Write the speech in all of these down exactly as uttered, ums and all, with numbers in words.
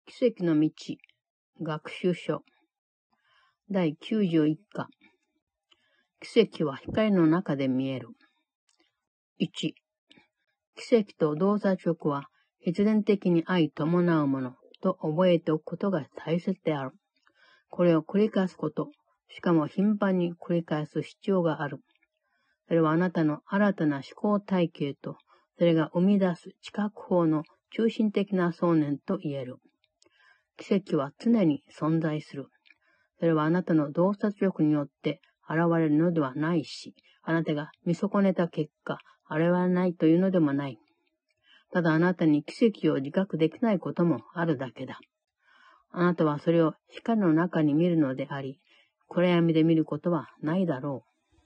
奇跡の道、学習書。だいきゅうじゅういっか。奇跡は光の中で見える。いち、奇跡と洞察力は必然的に相伴うものと覚えておくことが大切である。これを繰り返すこと、しかも頻繁に繰り返す必要がある。それはあなたの新たな思考体系と、それが生み出す知覚法の中心的な想念と言える。奇跡は常に存在する。それはあなたの洞察力によって現れるのではないし、あなたが見損ねた結果、現れないというのでもない。ただあなたに奇跡を自覚できないこともあるだけだ。あなたはそれを光の中に見るのであり、暗闇で見ることはないだろ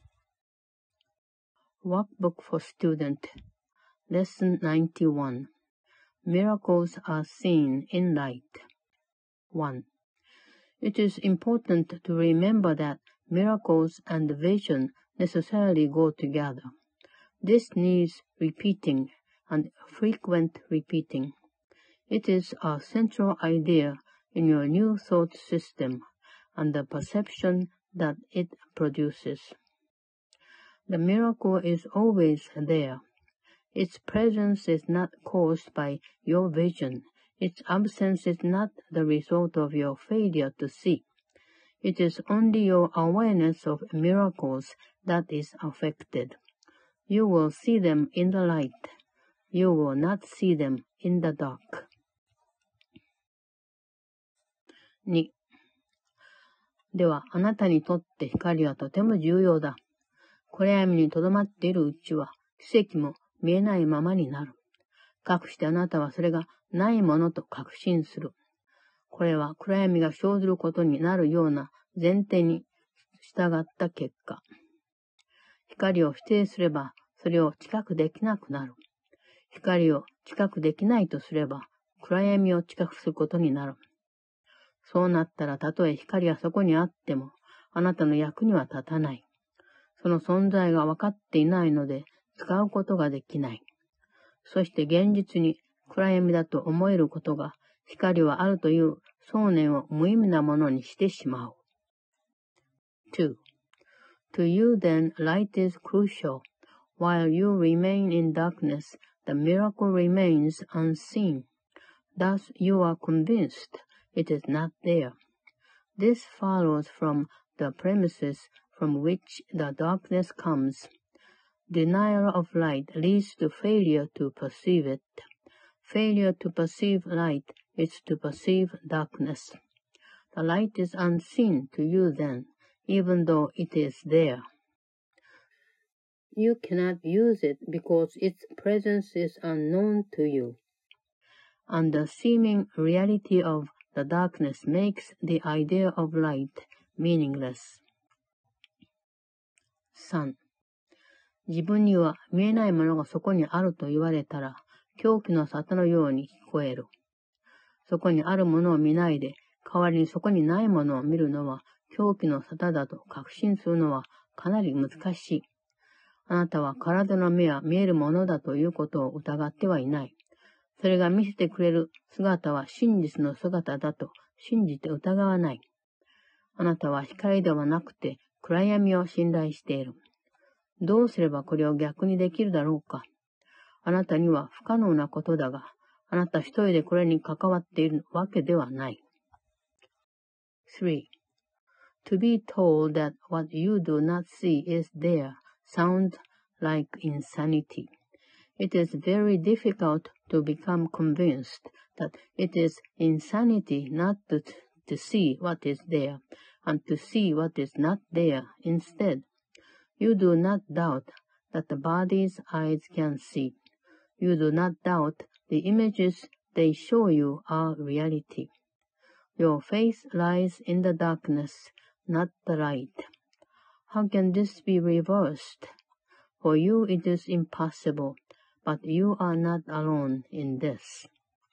う。Workbook for Student Lesson ninety-one Miracles are seen in light. one. It is important to remember that miracles and vision necessarily go together. This needs repeating and frequent repeating. It is a central idea in your new thought system and the perception that it produces. The miracle is always there. Its presence is not caused by your vision. Its absence is not the result of your failure to see. It is only your awareness of miracles that is affected. You will see them in the light. You will not see them in the dark. に. では、あなたにとって光はとても重要だ。暗闇にとどまっているうちは、奇跡も見えないままになる。かくしてあなたはそれがないものと確信する。これは暗闇が生ずることになるような前提に従った結果。光を否定すれば、それを知覚できなくなる。光を知覚できないとすれば、暗闇を知覚することになる。そうなったら、たとえ光がそこにあっても、あなたの役には立たない。その存在が分かっていないので、使うことができない。そして現実に暗闇だと思えることが、光はあるという想念を無意味なものにしてしまう。two. To you then, light is crucial. While you remain in darkness, the miracle remains unseen. Thus you are convinced it is not there. This follows from the premises from which the darkness comes. Denial of light leads to failure to perceive it. Failure to perceive light is to perceive darkness. The light is unseen to you then, even though it is there. You cannot use it because its presence is unknown to you. And the seeming reality of the darkness makes the idea of light meaningless. さん. 自分には見えないものがそこにあると言われたら、狂気の沙汰のように聞こえる。そこにあるものを見ないで、代わりにそこにないものを見るのは、狂気の沙汰だと確信するのはかなり難しい。あなたは体の目は見えるものだということを疑ってはいない。それが見せてくれる姿は真実の姿だと信じて疑わない。あなたは光ではなくて暗闇を信頼している。どうすればこれを逆にできるだろうか。あなたには不可能なことだが、あなた一人でこれに関わっているわけではない。three. To be told that what you do not see is there sounds like insanity. It is very difficult to become convinced that it is insanity not to, to see what is there, and to see what is not there instead. You do not doubt that the body's eyes can see. You do not doubt the images they show you are reality. Your faith lies in the darkness, not the light. How can this be reversed? For you it is impossible, but you are not alone in this.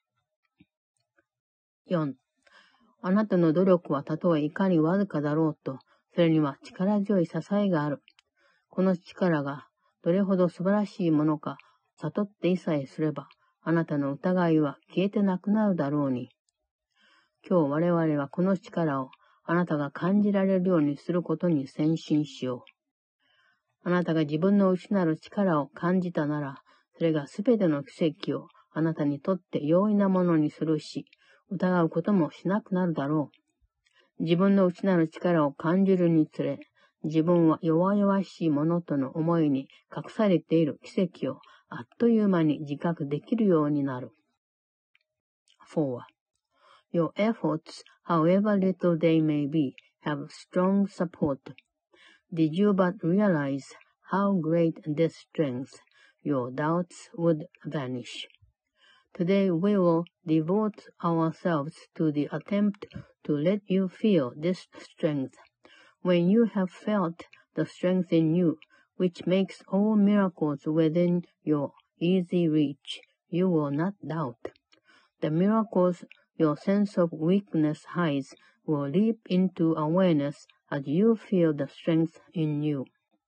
よん. あなたの努力はたとえいかにわずかだろうと、それには力強い支えがある。この力がどれほど素晴らしいものか悟っていさえすれば、あなたの疑いは消えてなくなるだろうに。 今日我々はこの力をあなたが感じられるようにすることに先進しよう。あなたが自分の内なる力を感じたなら、それがすべての奇跡をあなたにとって容易なものにするし、疑うこともしなくなるだろう。自分の内なる力を感じるにつれ、自分は弱々しいものとの思いに隠されている奇跡をあっという間に自覚できるようになる。four. Your efforts, however little they may be, have strong support. Did you but realize how great this strength, your doubts would vanish. Today we will devote ourselves to the attempt to let you feel this strength. When you have felt the strength in you, which makes all miracles within your easy reach, you will not doubt. The miracles your sense of weakness hides will leap into awareness as you feel the strength in you.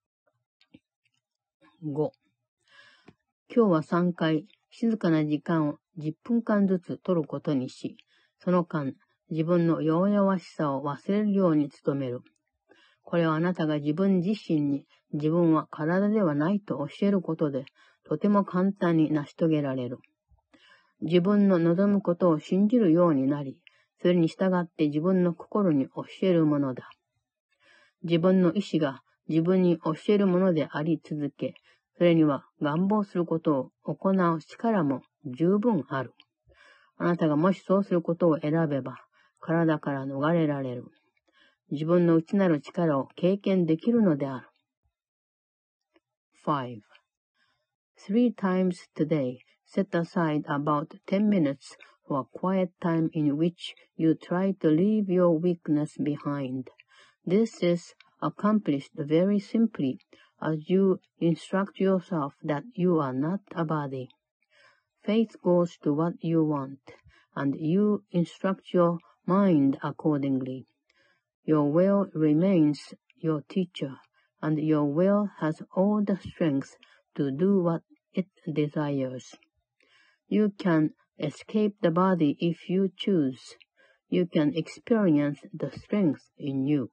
ご. 今日はさんかい静かな時間をじゅっぷんかんずつ取ることにし、その間、自分の弱々しさを忘れるように努める。これはあなたが自分自身に自分は体ではないと教えることで、とても簡単に成し遂げられる。自分の望むことを信じるようになり、それに従って自分の心に教えるものだ。自分の意志が自分に教えるものであり続け、それには願望することを行う力も十分ある。あなたがもしそうすることを選べば、体から逃れられる。自分の内なる力を経験できるのである。five. Three times today, set aside about ten minutes for a quiet time in which you try to leave your weakness behind. This is accomplished very simply as you instruct yourself that you are not a body. Faith goes to what you want, and you instruct your mind accordingly. Your will remains your teacher, and your will has all the strength to do what it desires. You can escape the body if you choose. You can experience the strength in you.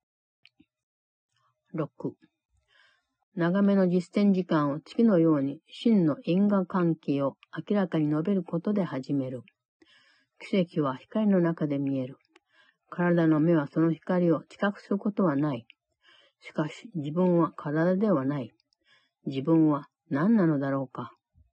ろく. 長めの実践時間を次のように真の因果関係を明らかに述べることで始める。奇跡は光の中で見える。体の目はその光を知覚することはない。しかし自分は体ではない。自分は何なのだろうか。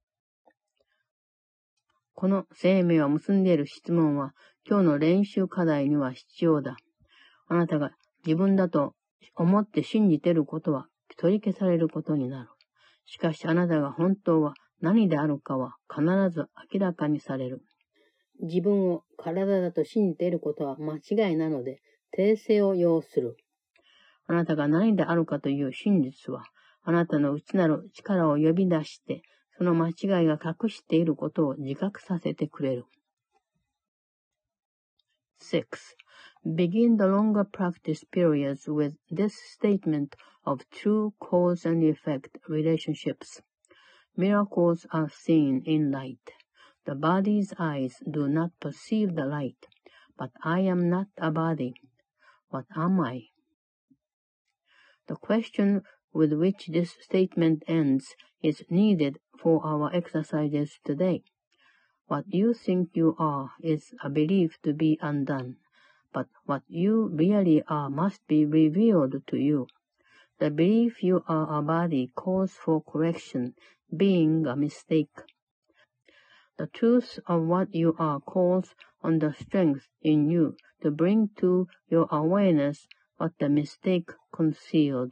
この生命を結んでいる質問は今日の練習課題には必要だ。あなたが自分だと思って信じていることは取り消されることになる。しかしあなたが本当は何であるかは必ず明らかにされる。自分を体だと信じていることは間違いなので訂正を要する。あなたが何であるかという真実はあなたの内なる力を呼び出してその間違いが隠していることを自覚させてくれる。six. Begin the longer practice periods with this statement of true cause and effect relationships. Miracles are seen in light. The body's eyes do not perceive the light, but I am not a body. What am I? The question with which this statement ends is needed for our exercises today. What you think you are is a belief to be undone, but what you really are must be revealed to you. The belief you are a body calls for correction, being a mistake. The truth of what you are calls on the strength in you to bring to your awareness what the mistake conceals.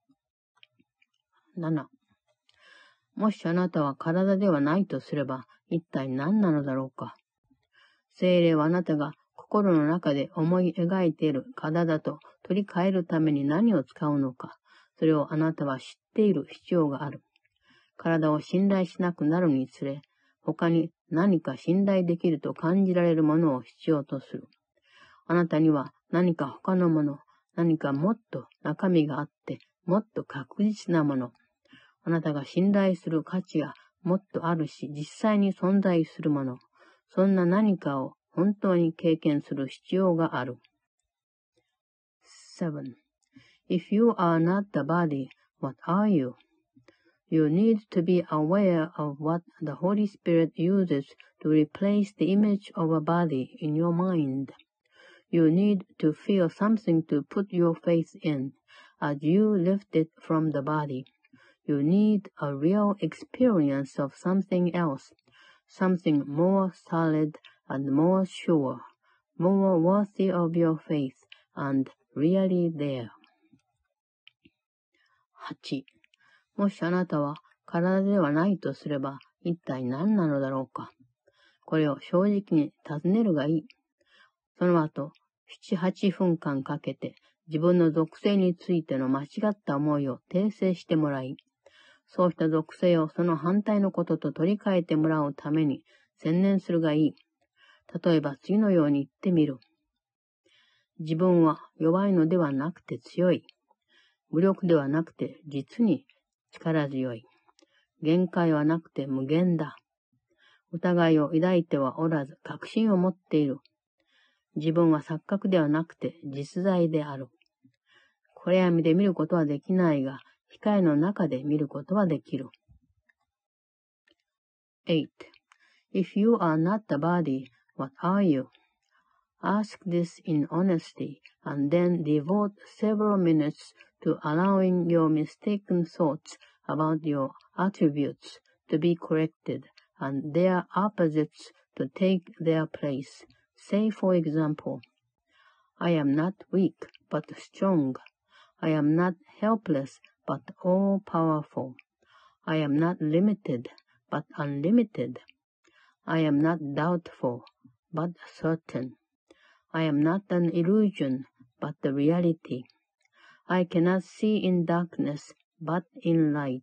なな. もしあなたは体ではないとすれば、一体何なのだろうか。聖霊はあなたが心の中で思い描いている体と取り替えるために何を使うのか、それをあなたは知っている必要がある。体を信頼しなくなるにつれ、他に何か信頼できると感じられるものを必要とする。あなたには何か他のもの、何かもっと中身があって、もっと確実なもの。あなたが信頼する価値がもっとあるし、実際に存在するもの。そんな何かを本当に経験する必要がある。seven. If you are not the body, what are you? You need to be aware of what the Holy Spirit uses to replace the image of a body in your mind. You need to feel something to put your faith in as you lift it from the body. You need a real experience of something else, something more solid and more sure, more worthy of your faith and really there. はち. もしあなたは体ではないとすれば一体何なのだろうか。これを正直に尋ねるがいい。その後、なな、はちふんかんかけて自分の属性についての間違った思いを訂正してもらい、そうした属性をその反対のことと取り替えてもらうために専念するがいい。例えば次のように言ってみる。自分は弱いのではなくて強い。無力ではなくて実に力強い。限界はなくて無限だ。疑いを抱いてはおらず確信を持っている。自分は錯覚ではなくて実在である。暗闇で見ることはできないが、光の中で見ることはできる。eight. If you are not the body, what are you? Ask this in honesty, and then devote several minutes to allowing your mistaken thoughts about your attributes to be corrected, and their opposites to take their place. Say, for example, I am not weak, but strong. I am not helpless, but all-powerful. I am not limited, but unlimited. I am not doubtful, but certain. I am not an illusion, but the reality. I cannot see in darkness, but in light.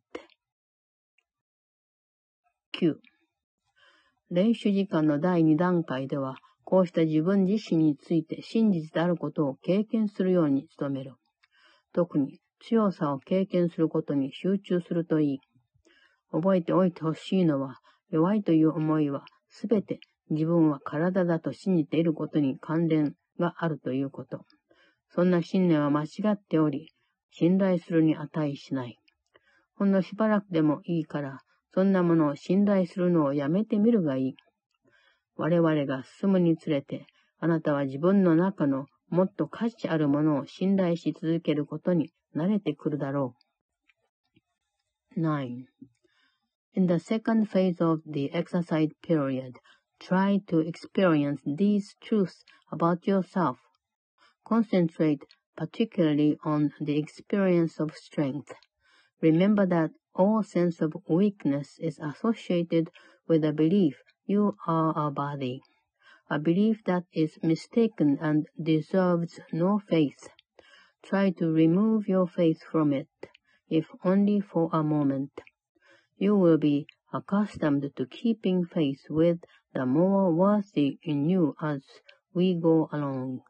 きゅう. 霊修時間のだいに段階では、こうした自分自身について真実であることを経験するように努める。特に強さを経験することに集中するといい。覚えておいてほしいのは、弱いという思いはすべて自分は体だと信じていることに関連があるということ。そんな信念は間違っており、信頼するに値しない。ほんのしばらくでもいいから、そんなものを信頼するのをやめてみるがいい。我々が進むにつれて、あなたは自分の中のもっと価値あるものを信頼し続けることに慣れてくるだろう。nine. In the second phase of the exercise period, try to experience these truths about yourself. Concentrate particularly on the experience of strength. Remember that all sense of weakness is associated with a belief you are a body, a belief that is mistaken and deserves no faith. Try to remove your faith from it, if only for a moment. You will be accustomed to keeping faith with the more worthy in you as we go along.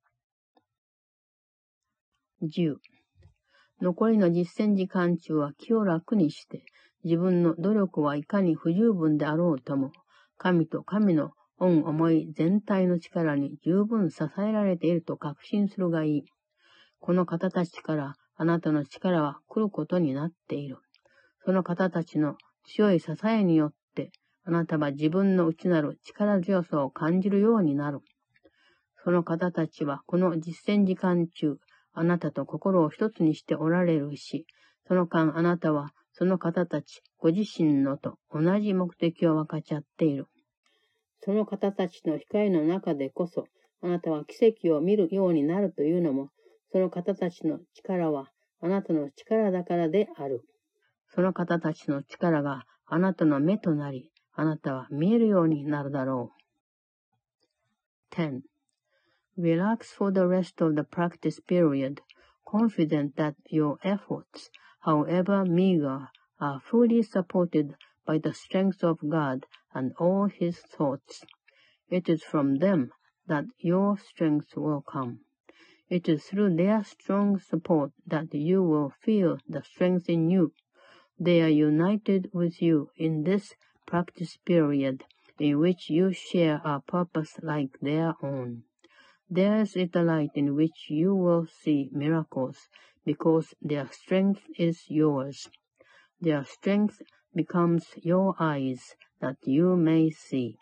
じゅう. 残りの実践時間中は気を楽にして、自分の努力はいかに不十分であろうとも、神と神の御思い全体の力に十分支えられていると確信するがいい。この方たちからあなたの力は来ることになっている。その方たちの強い支えによって、あなたは自分の内なる力強さを感じるようになる。その方たちはこの実践時間中、あなたと心を一つにしておられるし、その間あなたはその方たちご自身のと同じ目的を分かち合っている。その方たちの光の中でこそ、あなたは奇跡を見るようになるというのも、その方たちの力はあなたの力だからである。その方たちの力があなたの目となり、あなたは見えるようになるだろう。ten. Relax for the rest of the practice period, confident that your efforts, however meager, are fully supported by the strength of God and all His thoughts. It is from them that your strength will come. It is through their strong support that you will feel the strength in you. They are united with you in this practice period, in which you share a purpose like their own. Theirs is the light in which you will see miracles, because their strength is yours. Their strength becomes your eyes, that you may see.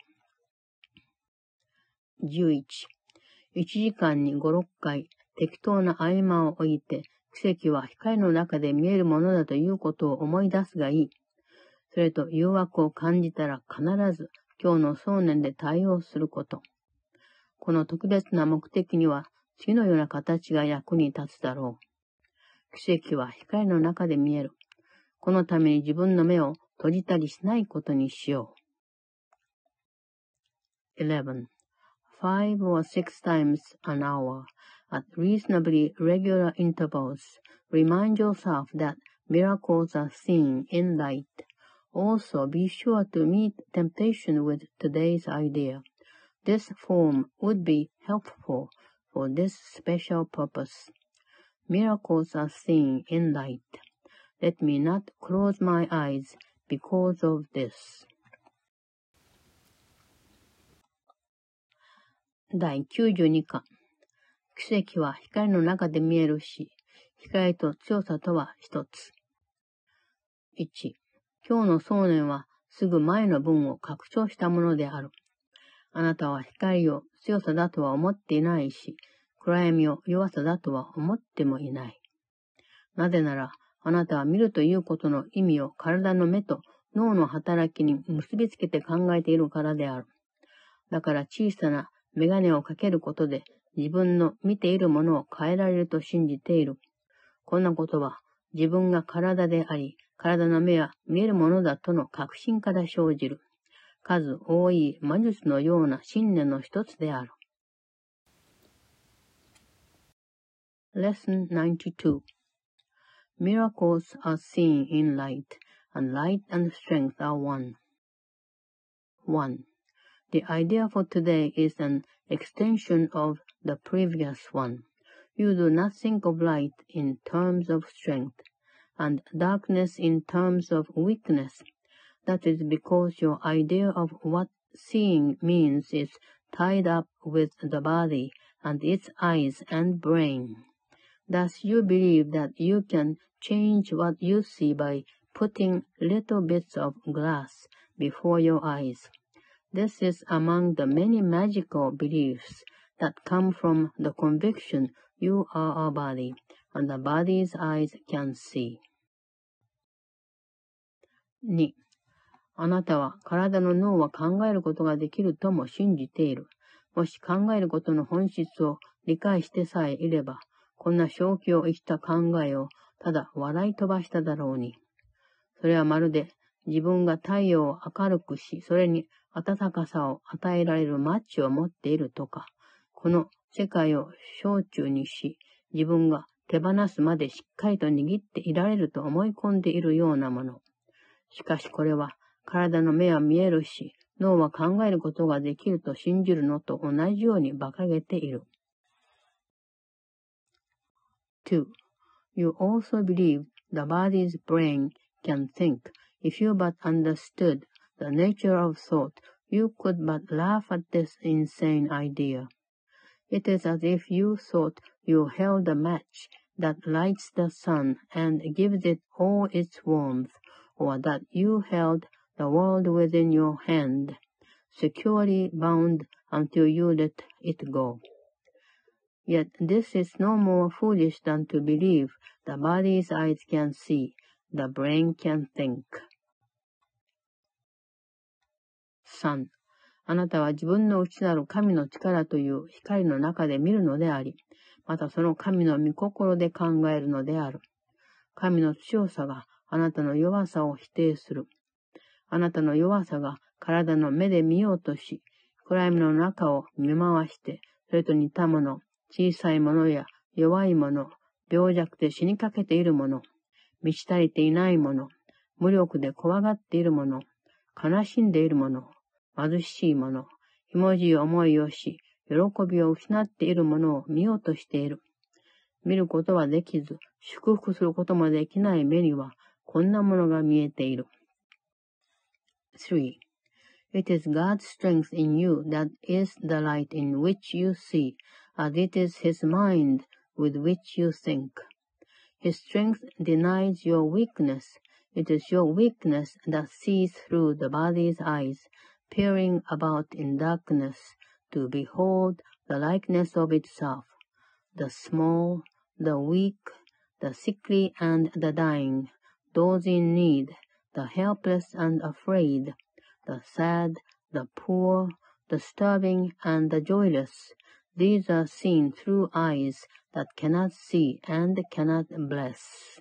じゅういち. いちじかんにご、ろっかい、適当な合間を置いて、奇跡は光の中で見えるものだということを思い出すがいい。それと誘惑を感じたら必ず今日の想念で対応すること。この特別な目的には次のような形が役に立つだろう。奇跡は光の中で見える。このために自分の目を閉じたりしないことにしよう。eleven. Five or six times an hour, at reasonably regular intervals, remind yourself that miracles are seen in light. Also, be sure to meet temptation with today's idea. This form would be helpful for this special purpose. Miracles are seen in light. Let me not close my eyes because of this. 第きゅうじゅうに課。奇跡は光の中で見えるし、光と強さとは一つ。いち. 今日の想念はすぐ前の文を拡張したものである。あなたは光を強さだとは思っていないし、暗闇を弱さだとは思ってもいない。なぜなら、あなたは見るということの意味を体の目と脳の働きに結びつけて考えているからである。だから小さなメガネをかけることで自分の見ているものを変えられると信じている。こんなことは自分が体であり、体の目は見えるものだとの確信から生じる。数多い魔術のような信念の一つである。Lesson ninety-two. Miracles are seen in light, and light and strength are one. one. The idea for today is an extension of the previous one. You do not think of light in terms of strength, and darkness in terms of weakness. That is because your idea of what seeing means is tied up with the body and its eyes and brain. Thus you believe that you can change what you see by putting little bits of glass before your eyes. This is among the many magical beliefs that come from the conviction you are a body, and the body's eyes can see. に. あなたは体の脳は考えることができるとも信じている。もし考えることの本質を理解してさえいれば、こんな正気を逸した考えをただ笑い飛ばしただろうに。それはまるで自分が太陽を明るくし、それに暖かさを与えられるマッチを持っているとか、この世界を小中にし、自分が手放すまでしっかりと握っていられると思い込んでいるようなもの。しかしこれは体の目は見えるし、脳は考えることができると信じるのと同じように馬鹿げている。two. You also believe the body's brain can think. If you but understood the nature of thought, you could but laugh at this insane idea. It is as if you thought you held a match that lights the sun and gives it all its warmth, or that you held the world within your hand, securely bound until you let it go. Yet this is no more foolish than to believe the body's eyes can see, the brain can think. さん. あなたは自分の内なる神の力という光の中で見るのであり、またその神の御心で考えるのである。神の強さがあなたの弱さを否定する。あなたの弱さが体の目で見ようとし、暗闇の中を見回して、それと似たもの、小さいものや弱いもの、病弱で死にかけているもの、満ち足りていないもの、無力で怖がっているもの、悲しんでいるもの、貧しいもの、ひもじい思いをし、喜びを失っているものを見ようとしている。見ることはできず、祝福することもできない目には、こんなものが見えている。three. It is God's strength in you that is the light in which you see, as it is His mind with which you think. His strength denies your weakness. It is your weakness that sees through the body's eyes, peering about in darkness to behold the likeness of itself, the small, the weak, the sickly and the dying, those in need, the helpless and afraid, the sad, the poor, the starving and the joyless. These are seen through eyes that cannot see and cannot bless.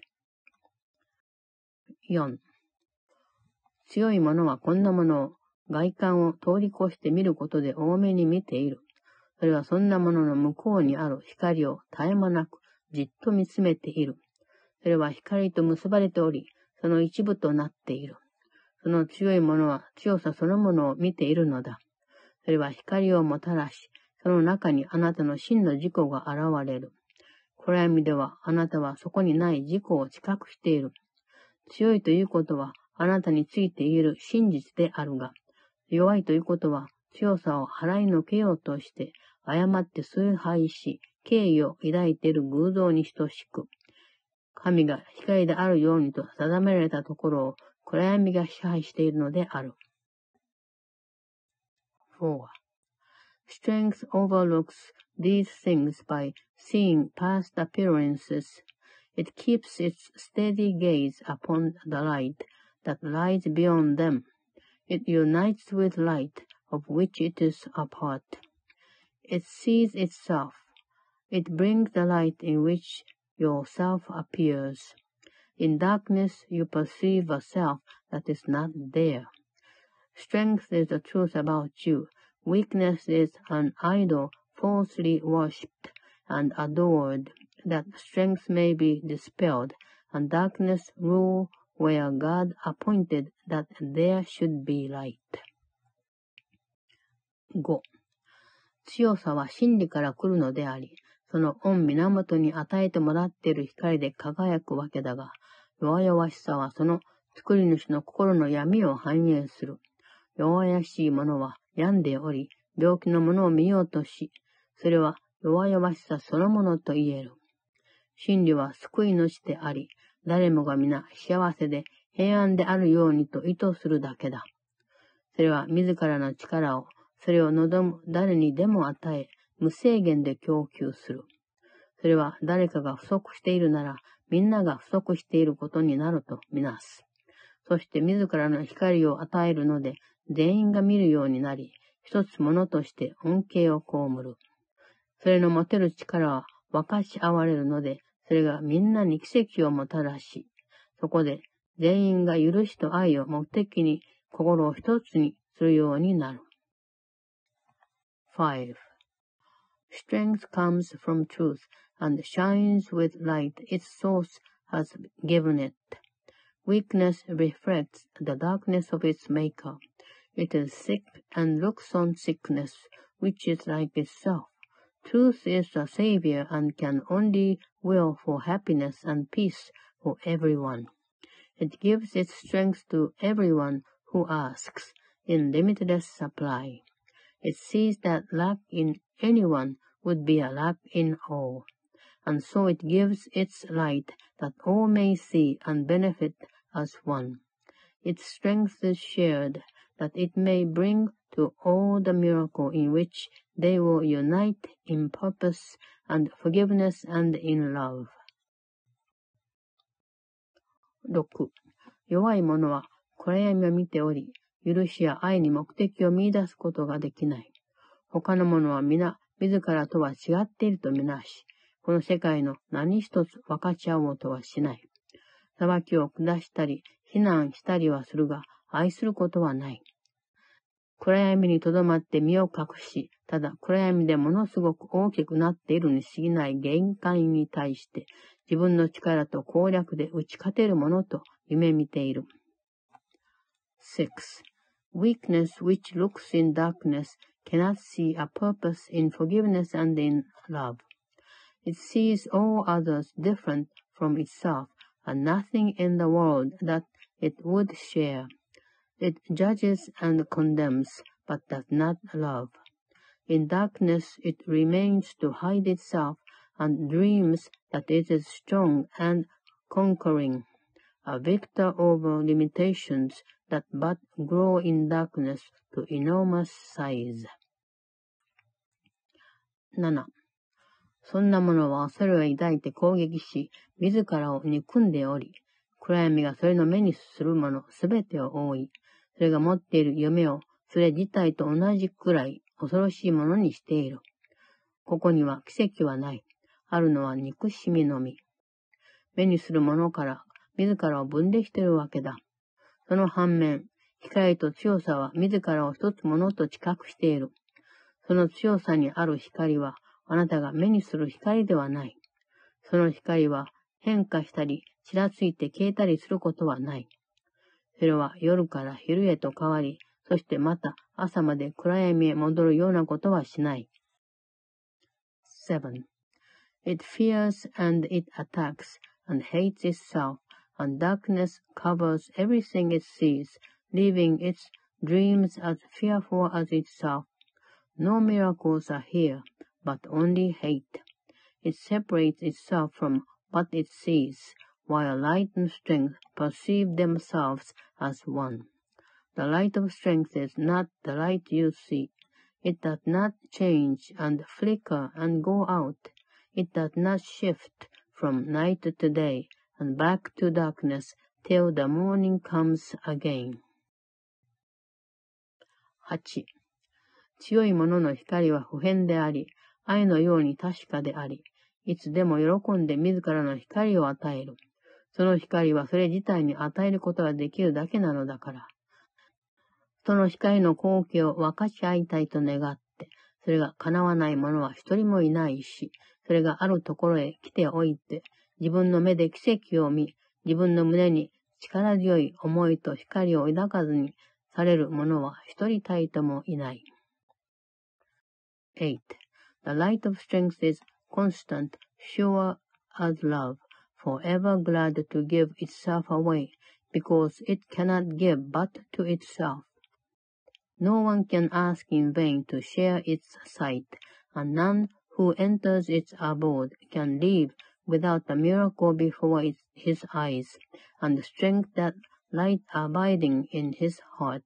よん. 強い者はこんなものを外観を通り越して見ることで多めに見ている。それはそんなものの向こうにある光を絶え間なくじっと見つめている。それは光と結ばれており、その一部となっている。その強い者は強さそのものを見ているのだ。それは光をもたらし、その中にあなたの真の自己が現れる。暗闇ではあなたはそこにない自己を知覚している。強いということはあなたについている真実であるが、弱いということは強さを払いのけようとして、誤って崇拝し、敬意を抱いている偶像に等しく、神が光であるようにと定められたところを暗闇が支配しているのである。four. Strength overlooks these things by seeing past appearances. It keeps its steady gaze upon the light that lies beyond them. It unites with light of which it is a part. It sees itself. It brings the light in which yourself appears. In darkness you perceive a self that is not there. Strength is the truth about you. Weakness is an idol falsely worshipped and adored, that strength may be dispelled, and darkness rule where God appointed that there should be light. ご. 強さは真理から来るのであり、その御源に与えてもらっている光で輝くわけだが、弱々しさはその作り主の心の闇を反映する。弱々しい者は病んでおり、病気のものを見ようとし、それは弱々しさそのものと言える。真理は救い主であり、誰もが皆幸せで平安であるようにと意図するだけだ。それは自らの力を、それを望む誰にでも与え、無制限で供給する。それは誰かが不足しているなら、みんなが不足していることになるとみなす。そして自らの光を与えるので、全員が見るようになり、一つものとして恩恵を被る。それの持てる力は分かち合われるので、それがみんなに奇跡をもたらし、そこで全員が許しと愛を目的に心を一つにするようになる。five. Strength comes from truth and shines with light its source has given it. Weakness reflects the darkness of its maker. It is sick and looks on sickness, which is like itself. Truth is the savior and can only will for happiness and peace for everyone. It gives its strength to everyone who asks, in limitless supply. It sees that lack in anyone would be a lack in all, and so it gives its light that all may see and benefit as one. Its strength is shared, that it may bring to all the miracle in which they will unite in purpose and forgiveness and in love. ろく. 弱い者は暗闇を見ており、許しや愛に目的を見出すことができない。他の者は皆自らとは違っているとみなし、この世界の何一つ分かち合おうとはしない。裁きを下したり、非難したりはするが、愛することはない。暗闇にとどまって身を隠し、ただ暗闇でものすごく大きくなっているに過ぎない限界に対して、自分の力と攻略で打ち勝てるものと夢見ている。six. Weakness which looks in darkness cannot see a purpose in forgiveness and in love. It sees all others different from itself, and nothing in the world that it would share. It judges and condemns, but does not love. In darkness it remains to hide itself and dreams that it is strong and conquering, a victor over limitations that but grow in darkness to enormous size. なな. そんなものは恐れを抱いて攻撃し、自らを憎んでおり、暗闇がそれの目にするものすべてを覆い、それが持っている夢をそれ自体と同じくらい恐ろしいものにしている。ここには奇跡はない。あるのは憎しみのみ。目にするものから自らを分離しているわけだ。その反面、光と強さは自らを一つものと知覚している。その強さにある光は、あなたが目にする光ではない。その光は変化したり、ちらついて消えたりすることはない。それは夜から昼へと変わり、そしてまた朝まで暗闇へ戻るようなことはしない。seven. It fears and it attacks and hates itself, and darkness covers everything it sees, leaving its dreams as fearful as itself. No miracles are here, but only hate. It separates itself from what it sees, while light and strength perceive themselves as one. The light of strength is not the light you see. It does not change and flicker and go out. It does not shift from night to day and back to darkness till the morning comes again. はち. 強いものの光は不変であり、愛のように確かであり、いつでも喜んで自らの光を与える。その光はそれ自体に与えることができるだけなのだから。その光の光景を分かち合いたいと願って、それが叶わない者は一人もいないし、それがあるところへ来ておいて、自分の目で奇跡を見、自分の胸に力強い思いと光を抱かずにされる者は一人たりともいない。eight. The light of strength is constant, sure as love, forever glad to give itself away, because it cannot give but to itself. No one can ask in vain to share its sight, and none who enters its abode can leave without a miracle before its, his eyes, and strength that light abiding in his heart.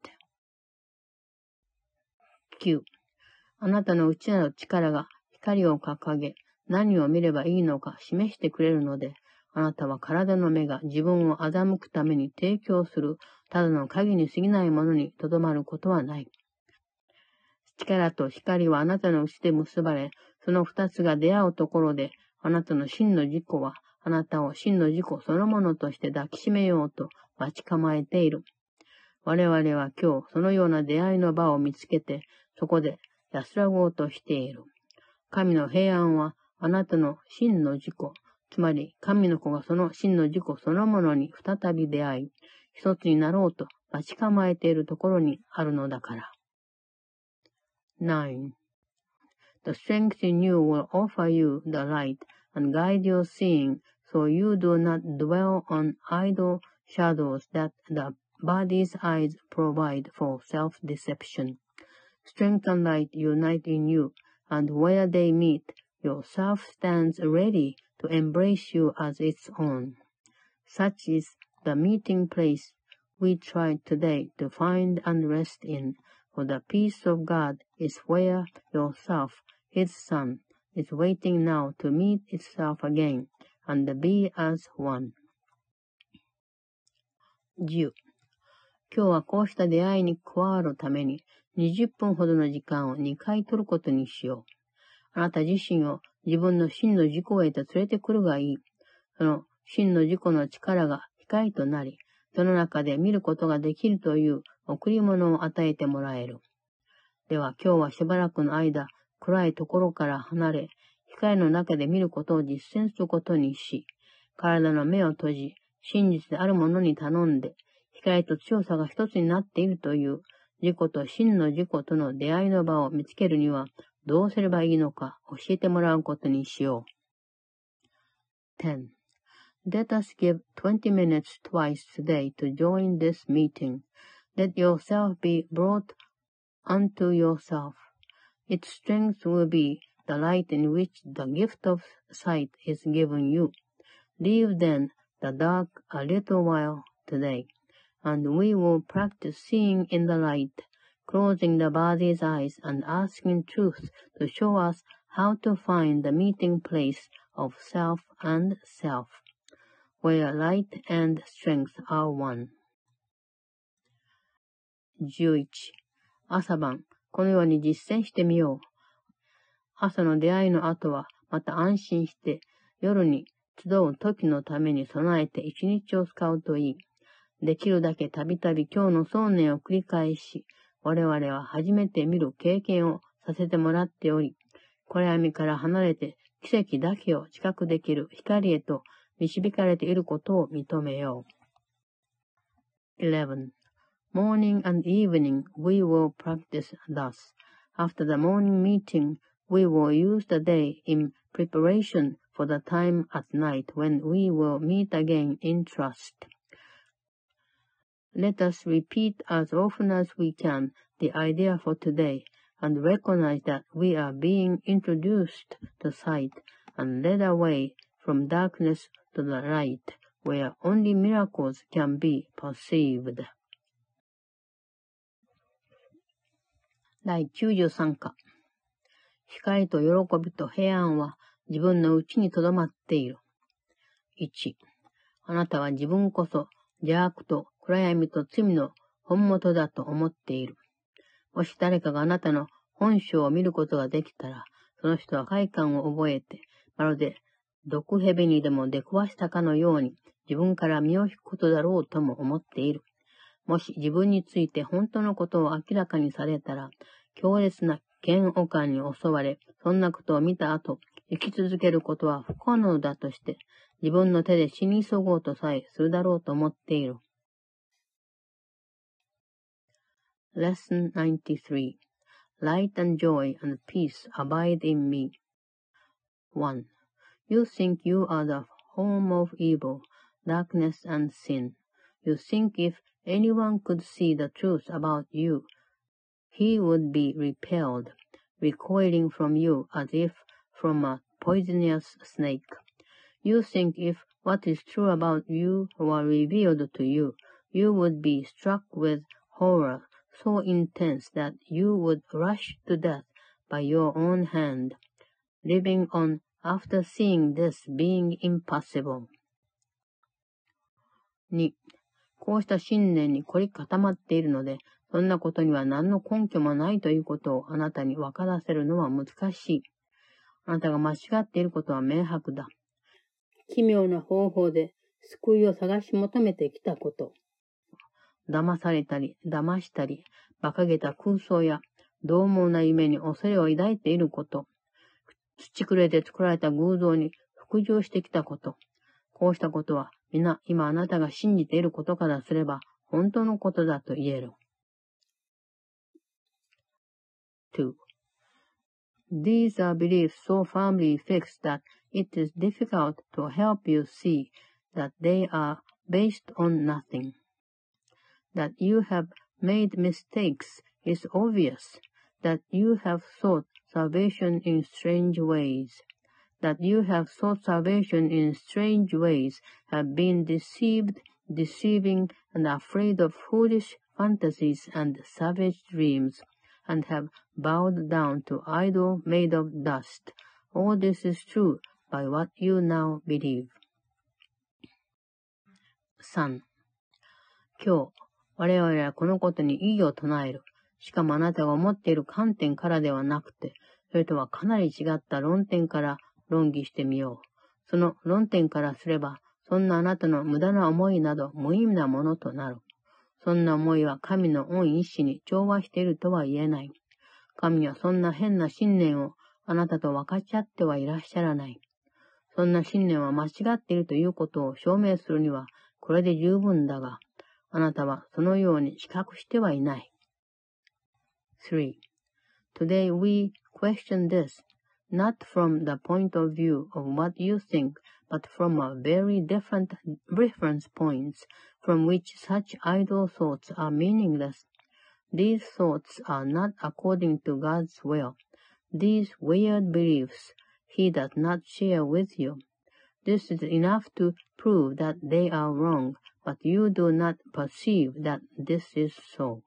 きゅう. あなたの内なる力が光を掲げ、何を見ればいいのか示してくれるので、あなたは体の目が自分を欺くために提供するただの影に過ぎないものにとどまることはない。力と光はあなたのうちで結ばれ、その二つが出会うところで、あなたの真の自己は、あなたを真の自己そのものとして抱きしめようと待ち構えている。我々は今日、そのような出会いの場を見つけて、そこで安らごうとしている。神の平安は、あなたの真の自己、つまり神の子がその真の自己そのものに再び出会い、一つになろうと待ち構えているところにあるのだから。nine. The strength in you will offer you the light and guide your seeing, so you do not dwell on idle shadows that the body's eyes provide for self-deception. Strength and light unite in you, and where they meet, your self stands ready to embrace you as its own. Such is the meeting place we tried today to find and rest in, for the peace of God is where yourself, His Son, is waiting now to meet itself again and be as one. じゅう. 今日はこうした出会いに加わるためににじゅっぷんほどの時間をにかい取ることにしよう。あなた自身を自分の真の自己へと連れてくるがいい。その真の自己の力が光となり、その中で見ることができるという贈り物を与えてもらえる。では今日はしばらくの間、暗いところから離れ、光の中で見ることを実践することにし、体の目を閉じ、真実であるものに頼んで、光と強さが一つになっているという自己と真の自己との出会いの場を見つけるにはどうすればいいのか教えてもらうことにしよう。ten. Let us give twenty minutes twice today to join this meeting. Let yourself be brought unto yourself. Its strength will be the light in which the gift of sight is given you. Leave then the dark a little while today, and we will practice seeing in the light, closing the body's eyes and asking truth to show us how to find the meeting place of self and self, where light and strength are one. じゅういち. 朝晩、このように実践してみよう。朝の出会いの後は、また安心して、夜に集う時のために備えて一日を使うといい。できるだけたびたび今日の想念を繰り返し、我々は初めて見る経験をさせてもらっており、暗闇から離れて奇跡だけを知覚できる光へと導かれていることを認めよう。eleven. Morning and evening we will practice thus. After the morning meeting, we will use the day in preparation for the time at night when we will meet again in trust. Let us repeat as often as we can the idea for today and recognize that we are being introduced to sight and led away from darkness to the light, where only miracles can be perceived. 第きゅうじゅうさん課。光と喜びと平安は自分の内にとどまっている。いち. あなたは自分こそ邪悪と暗闇と罪の本元だと思っている。もし誰かがあなたの本性を見ることができたら、その人は快感を覚えて、まるで毒蛇にでも出くわしたかのように自分から身を引くことだろうとも思っている。もし自分について本当のことを明らかにされたら、強烈な嫌悪感に襲われ、そんなことを見た後、生き続けることは不可能だとして、自分の手で死に急ごうとさえするだろうと思っている。Lesson ninety-three. Light and joy and peace abide in me. one. You think you are the home of evil, darkness and sin. You think if anyone could see the truth about you, he would be repelled, recoiling from you as if from a poisonous snake. You think if what is true about you were revealed to you, you would be struck with horror so intense that you would rush to death by your own hand, living on after seeing this being impossible. に. こうした信念に凝り固まっているので、そんなことには何の根拠もないということをあなたに分からせるのは難しい。あなたが間違っていることは明白だ。奇妙な方法で救いを探し求めてきたこと。騙されたり、騙したり、馬鹿げた空想や、獰猛な夢に恐れを抱いていること。土くれで作られた偶像に服従してきたこと。こうしたことは、皆今あなたが信じていることからすれば、本当のことだと言える。two. These are beliefs so firmly fixed that it is difficult to help you see that they are based on nothing. That you have made mistakes is obvious, that you have sought salvation in strange ways, that you have sought salvation in strange ways, have been deceived, deceiving, and afraid of foolish fantasies and savage dreams, and have bowed down to idol made of dust. All this is true by what you now believe. さん. 今日、我々はこのことに異議を唱える。しかもあなたが思っている観点からではなくて、それとはかなり違った論点から論議してみよう。その論点からすれば、そんなあなたの無駄な思いなど無意味なものとなる。そんな思いは神の御意志に調和しているとは言えない。神はそんな変な信念をあなたと分かち合ってはいらっしゃらない。そんな信念は間違っているということを証明するにはこれで十分だが、あなたはそのように知覚してはいない。three. Today we question this, not from the point of view of what you think, but from a very different reference points, from which such idle thoughts are meaningless. These thoughts are not according to God's will. These weird beliefs He does not share with you. This is enough to prove that they are wrong, but you do not perceive that this is so.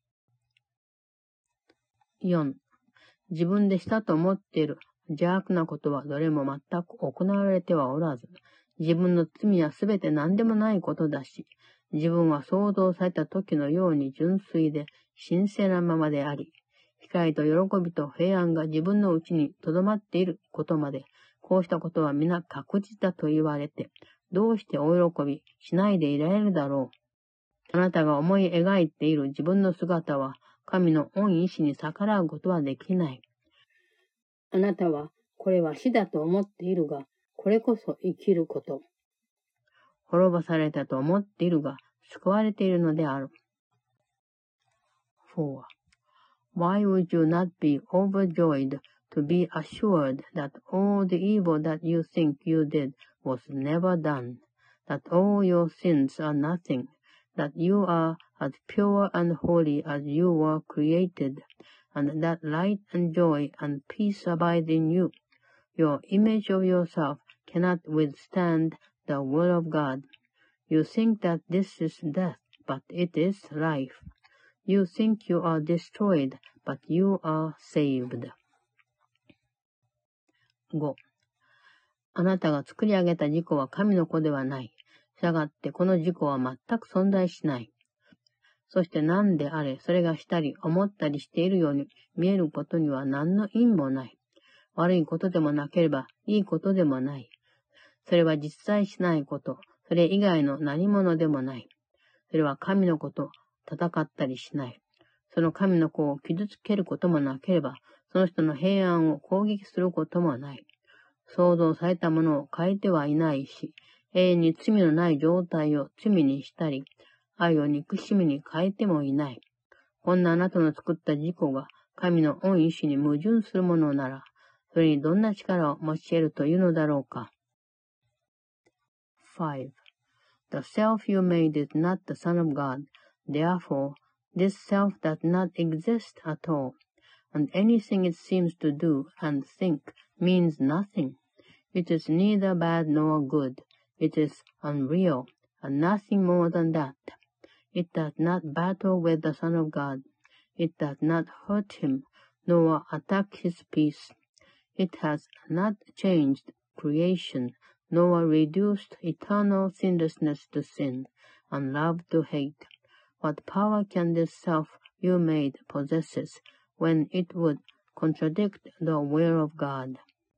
よん. 自分でしたと思っている邪悪なことはどれも全く行われてはおらず、自分の罪はすべて何でもないことだし、自分は創造された時のように純粋で神聖なままであり、光と喜びと平安が自分のうちに留まっていることまで、こうしたことは皆確実だと言われて、どうしてお喜びしないでいられるだろう。あなたが思い描いている自分の姿は、神の御意志に逆らうことはできない。あなたは、これは死だと思っているが、これこそ生きること。滅ぼされたと思っているが、救われているのである。four. Why would you not be overjoyed to be assured that all the evil that you think you did was never done, that all your sins are nothing, that you are as pure and holy as you were created, and that light and joy and peace abide in you. Your image of yourself cannot withstand the will of God. You think that this is death, but it is life. You think you are destroyed, but you are saved. ご. あなたが作り上げた自己は神の子ではない。したがってこの自己は全く存在しない。そして何であれ、それがしたり思ったりしているように見えることには何の意味もない。悪いことでもなければいいことでもない。それは実在しないこと、それ以外の何者でもない。それは神の子と戦ったりしない。その神の子を傷つけることもなければ、その人の平安を攻撃することもない。創造されたものを変えてはいないし、永遠に罪のない状態を罪にしたり、愛を憎しみに変えてもいない。こんなあなたの作った自己が神の御意志に矛盾するものなら、それにどんな力を持ち得るというのだろうか。five. The self you made is not the Son of God. Therefore, this self does not exist at all, and anything it seems to do and think means nothing. It is neither bad nor good. It is unreal, and nothing more than that. It does not battle with the Son of God. It does not hurt him, nor attack his peace. It has not changed creation, nor reduced eternal sinlessness to sin, and love to hate. What power can this self you made possess when it would contradict the will of God?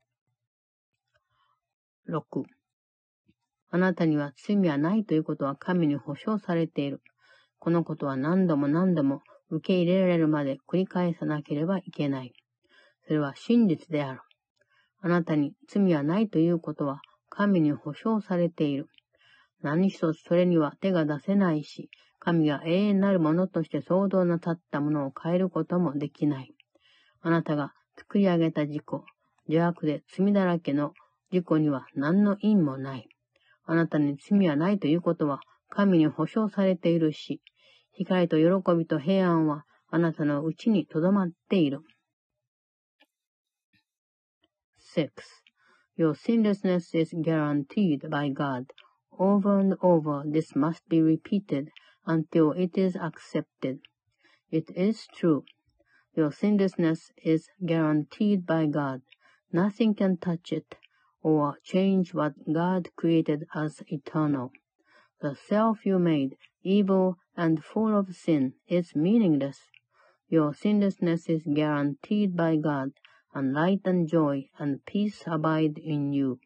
ろく. あなたには罪はないということは神に保証されている。このことは何度も何度も受け入れられるまで繰り返さなければいけない。それは真実である。あなたに罪はないということは神に保証されている。何一つそれには手が出せないし、神が永遠なるものとして創造なさったものを変えることもできない。あなたが作り上げた自己、邪悪で罪だらけの自己には何の因もない。あなたに罪はないということは神に保証されているし、光と喜びと平安はあなたのうちにとどまっている。six. Your sinlessness is guaranteed by God. Over and over this must be repeated until it is accepted. It is true. Your sinlessness is guaranteed by God. Nothing can touch it or change what God created as eternal. The self you made, evil and full of sin, is meaningless. Your sinlessness is guaranteed by God, and light and joy and peace abide in you.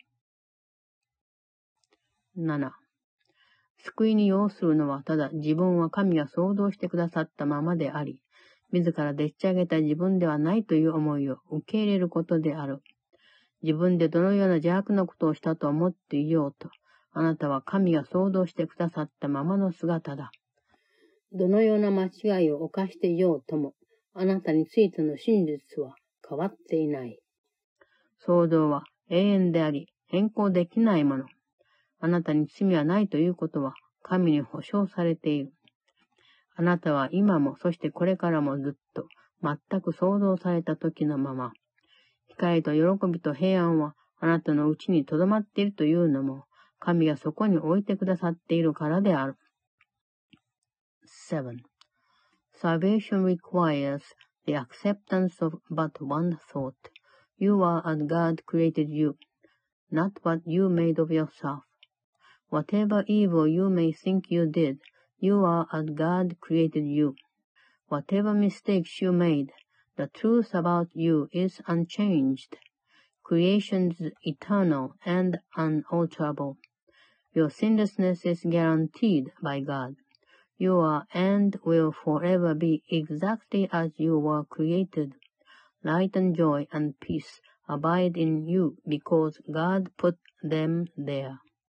なな. 救いに要するのはただ自分は神が創造してくださったままであり、自らでっち上げた自分ではないという思いを受け入れることである。自分でどのような邪悪なことをしたと思っていようと、あなたは神が創造してくださったままの姿だ。どのような間違いを犯していようとも、あなたについての真実は変わっていない。創造は永遠であり、変更できないもの。あなたに罪はないということは、 神に保証されている。あなたは今も、そしてこれからもずっと、全く創造された時のまま、光と喜びと平安はあなたのうちに留まっているというのも、神がそこに置いてくださっているからである。seven. Salvation requires the acceptance of but one thought. You are as God created you, not what you made of yourself. Whatever evil you may think you did, you are as God created you. Whatever mistakes you made, the truth about you is unchanged. Creation is eternal and unalterable. Your sinlessness is guaranteed by God. You are and will forever be exactly as you were created. Light and joy and peace abide in you because God put them there.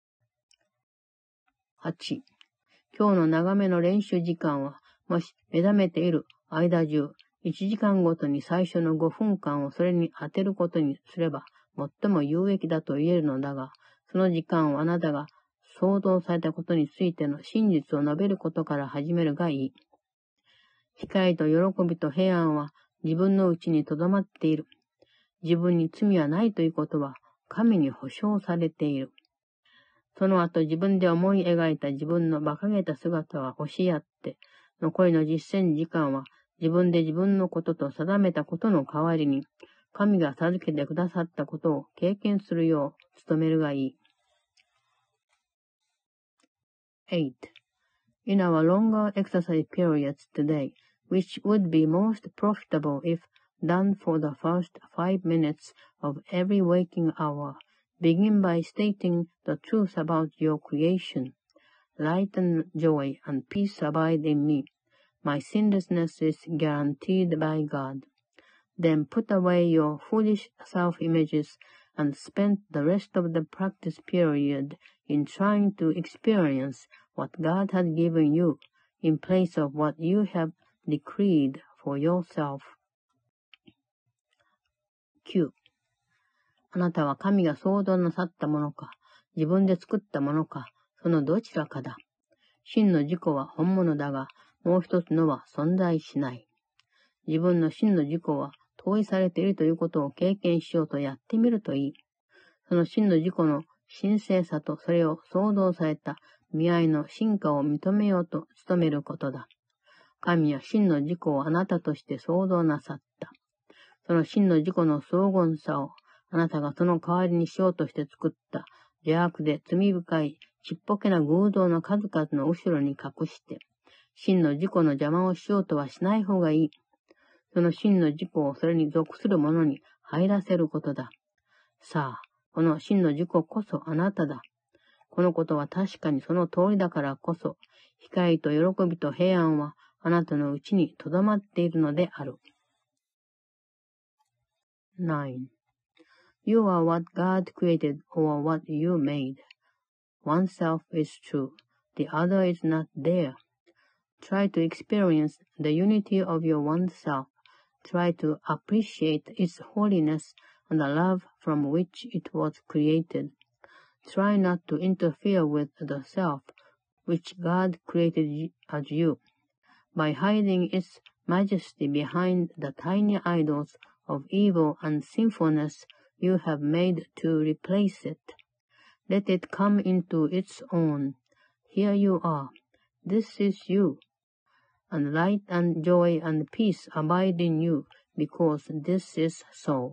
はち. 今日の長めの練習時間は、もし目覚めている間中、いちじかんごとに最初のごふんかんをそれに当てることにすれば、最も有益だと言えるのだが、その時間をあなたが創造されたことについての真実を述べることから始めるがいい。光と喜びと平安は自分のうちに留まっている。自分に罪はないということは神に保証されている。その後自分で思い描いた自分の馬鹿げた姿は押し合って、残りの実践時間は自分で自分のことと定めたことの代わりに、神が授けてくださったことを経験するよう努めるがいい。eight. In our longer exercise periods today, which would be most profitable if done for the first five minutes of every waking hour, begin by stating the truth about your creation. Light and joy and peace abide in me. My sinlessness is guaranteed by God. Then put away your foolish self-images and spend the rest of the practice period in trying to experience what God has given you in place of what you have decreed for yourself. きゅう. あなたは神が創造なさったものか、自分で作ったものか、そのどちらかだ。真の自己は本物だが、もう一つのは存在しない。自分の真の自己は統一されているということを経験しようとやってみるといい。その真の自己の神聖さとそれを創造された見合いの進化を認めようと努めることだ。神は真の自己をあなたとして創造なさった。その真の自己の荘厳さをあなたがその代わりにしようとして作った邪悪で罪深いちっぽけな偶像の数々の後ろに隠して、真の自己の邪魔をしようとはしない方がいい。その真の自己をそれに属するものに入らせることだ。さあ、この真の自己こそあなただ。このことは確かにその通りだからこそ、光と喜びと平安はあなたのうちに留まっているのである。nine. You are what God created or what you made. One self is true. The other is not there. Try to experience the unity of your one self. Try to appreciate its holiness and the love from which it was created. Try not to interfere with the self which God created as you, by hiding its majesty behind the tiny idols of evil and sinfulness you have made to replace it. Let it come into its own. Here you are. This is you. And light and joy and peace abide in you, because this is so.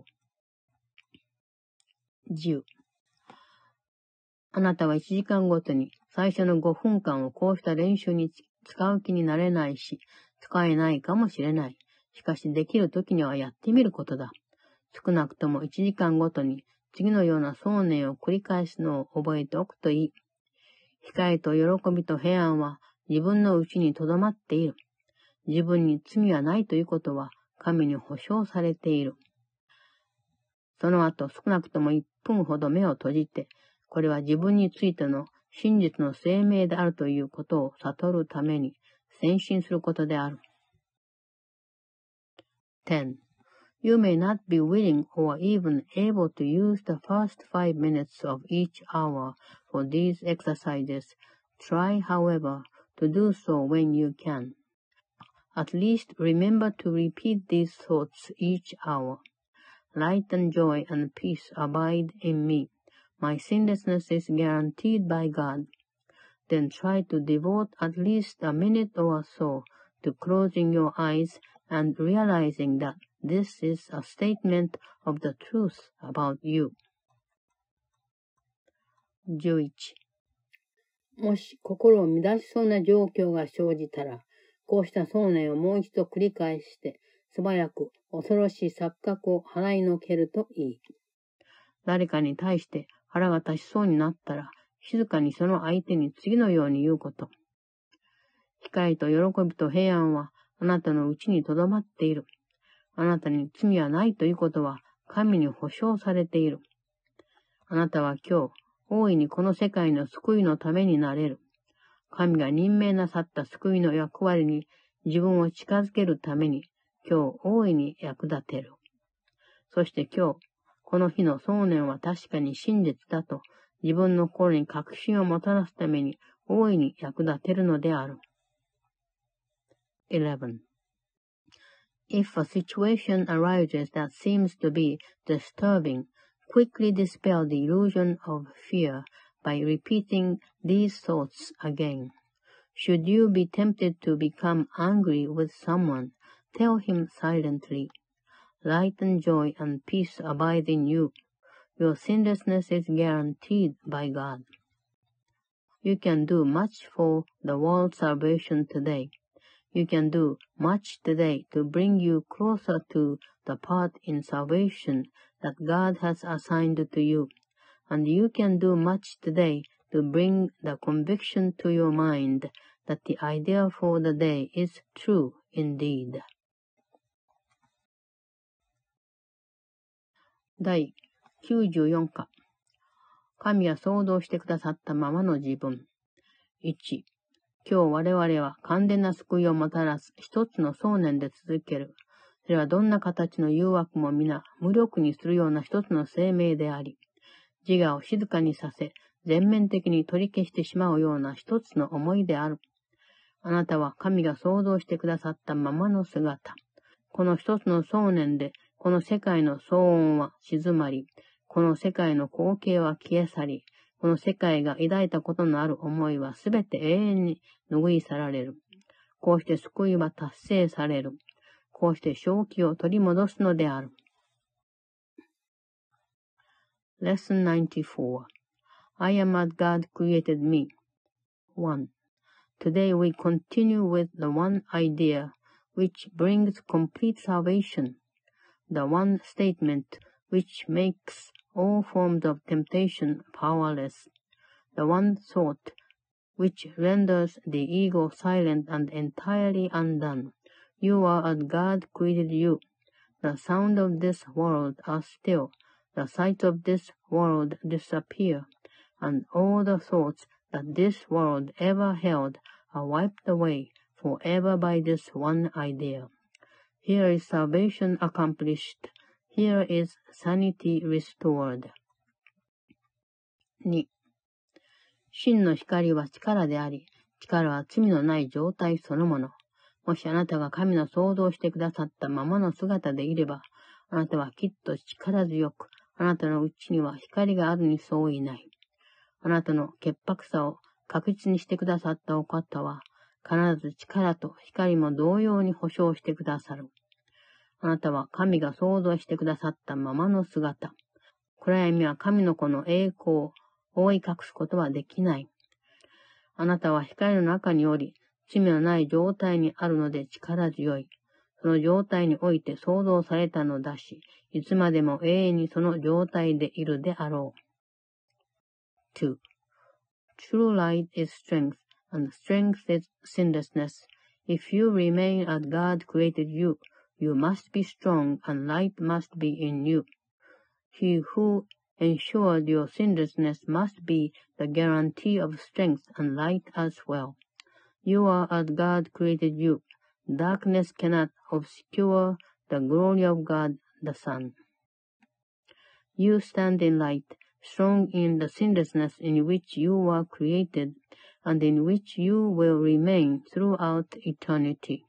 じゅう. あなたはいちじかんごとに最初のごふんかんをこうした練習に使う気になれないし、使えないかもしれない。しかしできるときにはやってみることだ。少なくともいちじかんごとに次のような想念を繰り返すのを覚えておくといい。光と喜びと平安は自分のうちに留まっている。自分に罪はないということは神に保証されている。その後少なくともいっぷんほど目を閉じて、これは自分についての真実の声明であるということを悟るために先進することである。ten. You may not be willing or even able to use the first five minutes of each hour for these exercises, Try, however, to do so when you can. At least remember to repeat these thoughts each hour. Light and joy and peace abide in me. My sinlessness is guaranteed by God. Then try to devote at least a minute or so to closing your eyes and realizing that this is a statement of the truth about you. じゅういち. もし心を乱しそうな状況が生じたら、こうした想念をもう一度繰り返して、素早く恐ろしい錯覚を払いのけるといい。誰かに対して腹が立ちそうになったら、静かにその相手に次のように言うこと。光と喜びと平安はあなたのうちにとどまっている。あなたに罪はないということは神に保証されている。あなたは今日、大いにこの世界の救いのためになれる。神が任命なさった救いの役割に自分を近づけるために今日大いに役立てる。そして今日、この日の想念は確かに真実だと自分の心に確信をもたらすために大いに役立てるのである。eleven. If a situation arises that seems to be disturbing, quickly dispel the illusion of fear by repeating these thoughts again. Should you be tempted to become angry with someone, tell him silently, Light and joy and peace abide in you. Your sinlessness is guaranteed by God. You can do much for the world's salvation today. You can do much today to bring you closer to the part in salvation that God has assigned to you. And you can do much today to bring the conviction to your mind that the idea for the day is true indeed. 第きゅうじゅうよん課。神が創造してくださったままの自分。いち. 今日我々は完全な救いをもたらす一つの想念で続ける。それはどんな形の誘惑も皆無力にするような一つの生命であり、自我を静かにさせ、全面的に取り消してしまうような一つの思いである。あなたは神が創造してくださったままの姿。この一つの想念で、この世界の騒音は静まり、この世界の光景は消え去り、この世界が抱いたことのある思いはすべて永遠に拭い去られる。こうして救いは達成される。こうして正気を取り戻すのである。Lesson ninety-four. I am as God created me. one. Today we continue with the one idea which brings complete salvation, the one statement which makes all forms of temptation powerless, the one thought which renders the ego silent and entirely undone. You are as God created you. The sound of this world are still, the sight of this world disappear, and all the thoughts that this world ever held are wiped away forever by this one idea. Here is salvation accomplished. Here is sanity restored. に. 真の光は力であり、力は罪のない状態そのもの。もしあなたが神の創造してくださったままの姿でいれば、あなたはきっと力強く、あなたのうちには光があるに相違ない。あなたの潔白さを確実にしてくださったお方は、必ず力と光も同様に保証してくださる。あなたは神が創造してくださったままの姿。暗闇は神の子の栄光を覆い隠すことはできない。あなたは光の中におり、罪のない状態にあるので力強い。その状態において創造されたのだし、いつまでも永遠にその状態でいるであろう。two. True light is strength, and strength is sinlessness. If you remain as God created you, you must be strong, and light must be in you. He who ensured your sinlessness must be the guarantee of strength and light as well. You are as God created you. Darkness cannot obscure the glory of God the Son. You stand in light, strong in the sinlessness in which you were created, and in which you will remain throughout eternity.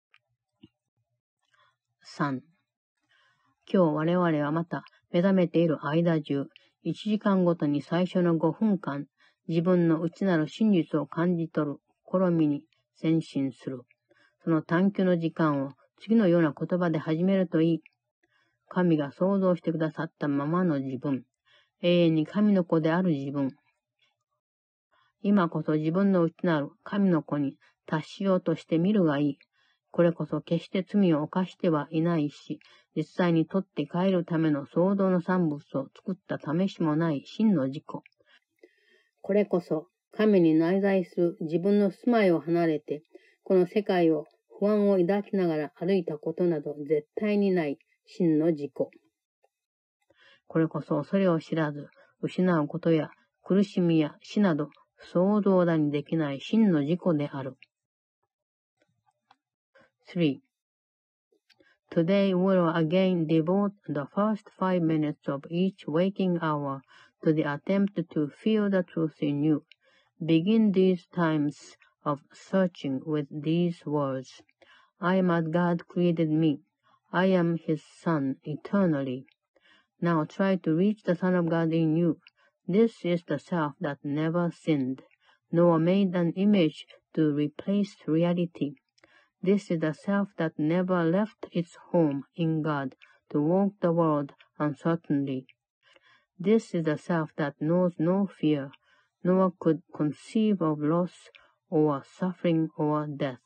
さん. 今日我々はまた目覚めている間中、いちじかんごとに最初のごふんかん、自分の内なる真実を感じ取る試みに前進する。その探求の時間を次のような言葉で始めるといい。神が創造してくださったままの自分、永遠に神の子である自分。今こそ自分の内なる神の子に達しようとしてみるがいい。これこそ決して罪を犯してはいないし、実際に取って帰るための創造の産物を作った試しもない真の自己。これこそ神に内在する自分の住まいを離れて、この世界を不安を抱きながら歩いたことなど絶対にない真の自己。これこそそれを知らず、失うことや苦しみや死など想像だにできない真の自己である。three. Today we will again devote the first five minutes of each waking hour to the attempt to feel the truth in you. Begin these times of searching with these words. I am as God created me. I am His Son eternally. Now try to reach the Son of God in you. This is the self that never sinned, nor made an image to replace reality.This is the self that never left its home in God to walk the world uncertainly. This is the self that knows no fear, nor could conceive of loss or suffering or death.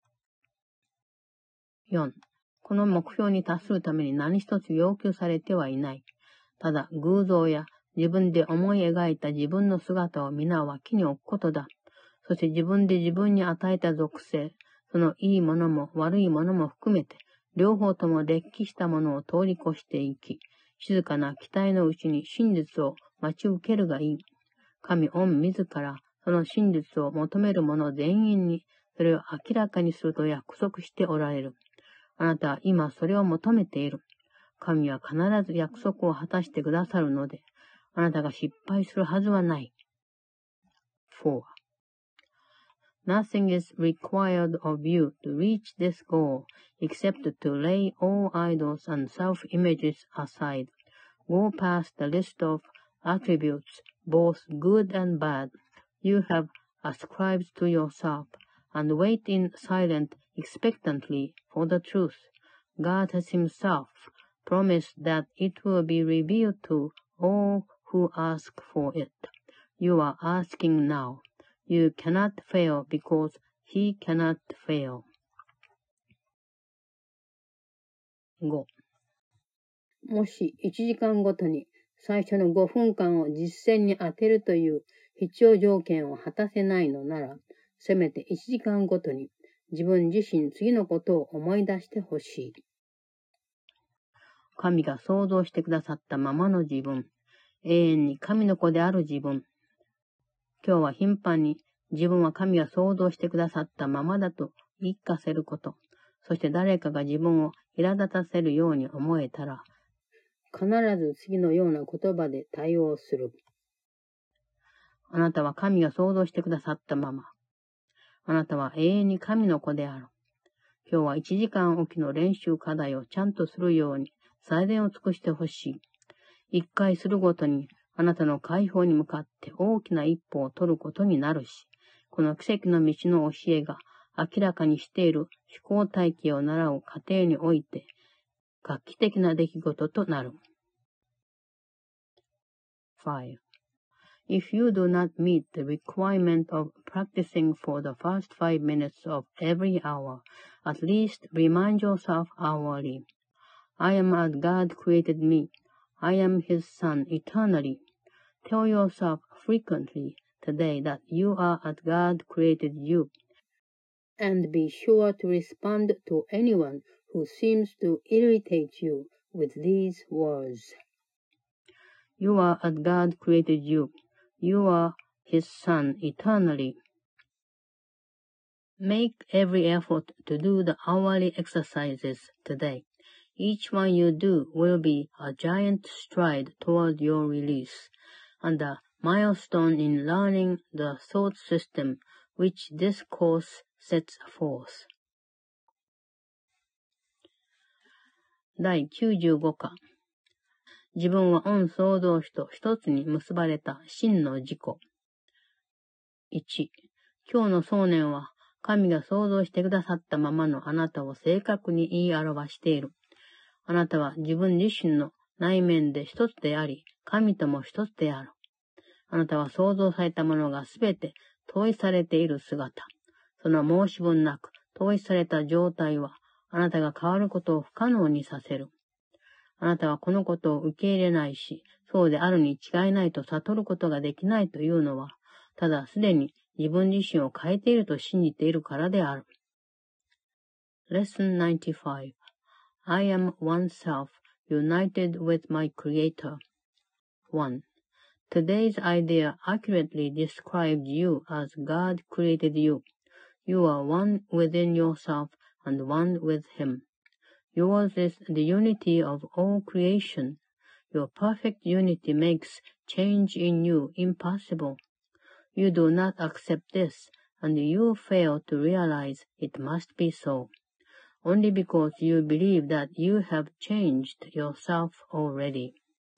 よん. この目標に達するために何一つ要求されてはいない。ただ偶像や自分で思い描いた自分の姿を皆脇に置くことだ。そして自分で自分に与えた属性、そのいいものも悪いものも含めて、両方とも劣気したものを通り越していき、静かな期待のうちに真実を待ち受けるがいい。神御自ら、その真実を求める者全員に、それを明らかにすると約束しておられる。あなたは今それを求めている。神は必ず約束を果たしてくださるので、あなたが失敗するはずはない。four.Nothing is required of you to reach this goal except to lay all idols and self-images aside. Go past the list of attributes, both good and bad, you have ascribed to yourself, and wait in silent expectantly for the truth. God has Himself promised that it will be revealed to all who ask for it. You are asking now.You cannot fail because he cannot fail. ご. もしいちじかんごとに最初のごふんかんを実践に当てるという必要条件を果たせないのなら、せめていちじかんごとに自分自身次のことを思い出してほしい。神が創造してくださったままの自分、永遠に神の子である自分。今日は頻繁に自分は神が創造してくださったままだと言い聞かせること、そして誰かが自分を苛立たせるように思えたら、必ず次のような言葉で対応する。あなたは神が創造してくださったまま。あなたは永遠に神の子である。今日はいちじかんおきの練習課題をちゃんとするように最善を尽くしてほしい。一回するごとにあなたの解放に向かって大きな一歩を取ることになるし、この奇跡の道の教えが明らかにしている思考体系を習う過程において、画期的な出来事となる。five. If you do not meet the requirement of practicing for the first five minutes of every hour, at least remind yourself hourly. I am as God created me. I am His Son eternally. Tell yourself frequently today that you are as God created you. And be sure to respond to anyone who seems to irritate you with these words. You are as God created you. You are His Son eternally. Make every effort to do the hourly exercises today. Each one you do will be a giant stride toward your release. and a milestone in learning the thought system which this course sets forth. だいきゅうじゅうご課。自分は御創造主と一つに結ばれた真の自己。いち、今日の想念は、神が創造してくださったままのあなたを正確に言い表している。あなたは自分自身の内面で一つであり、神とも一つである。あなたは創造されたものがすべて統一されている姿。その申し分なく統一された状態は、あなたが変わることを不可能にさせる。あなたはこのことを受け入れないし、そうであるに違いないと悟ることができないというのは、ただすでに自分自身を変えていると信じているからである。Lesson ninety-five. I am oneself, united with my Creator. one. Today's idea accurately describes you as God created you. You are one within yourself and one with Him. Yours is the unity of all creation. Your perfect unity makes change in you impossible. You do not accept this, and you fail to realize it must be so, only because you believe that you have changed yourself already.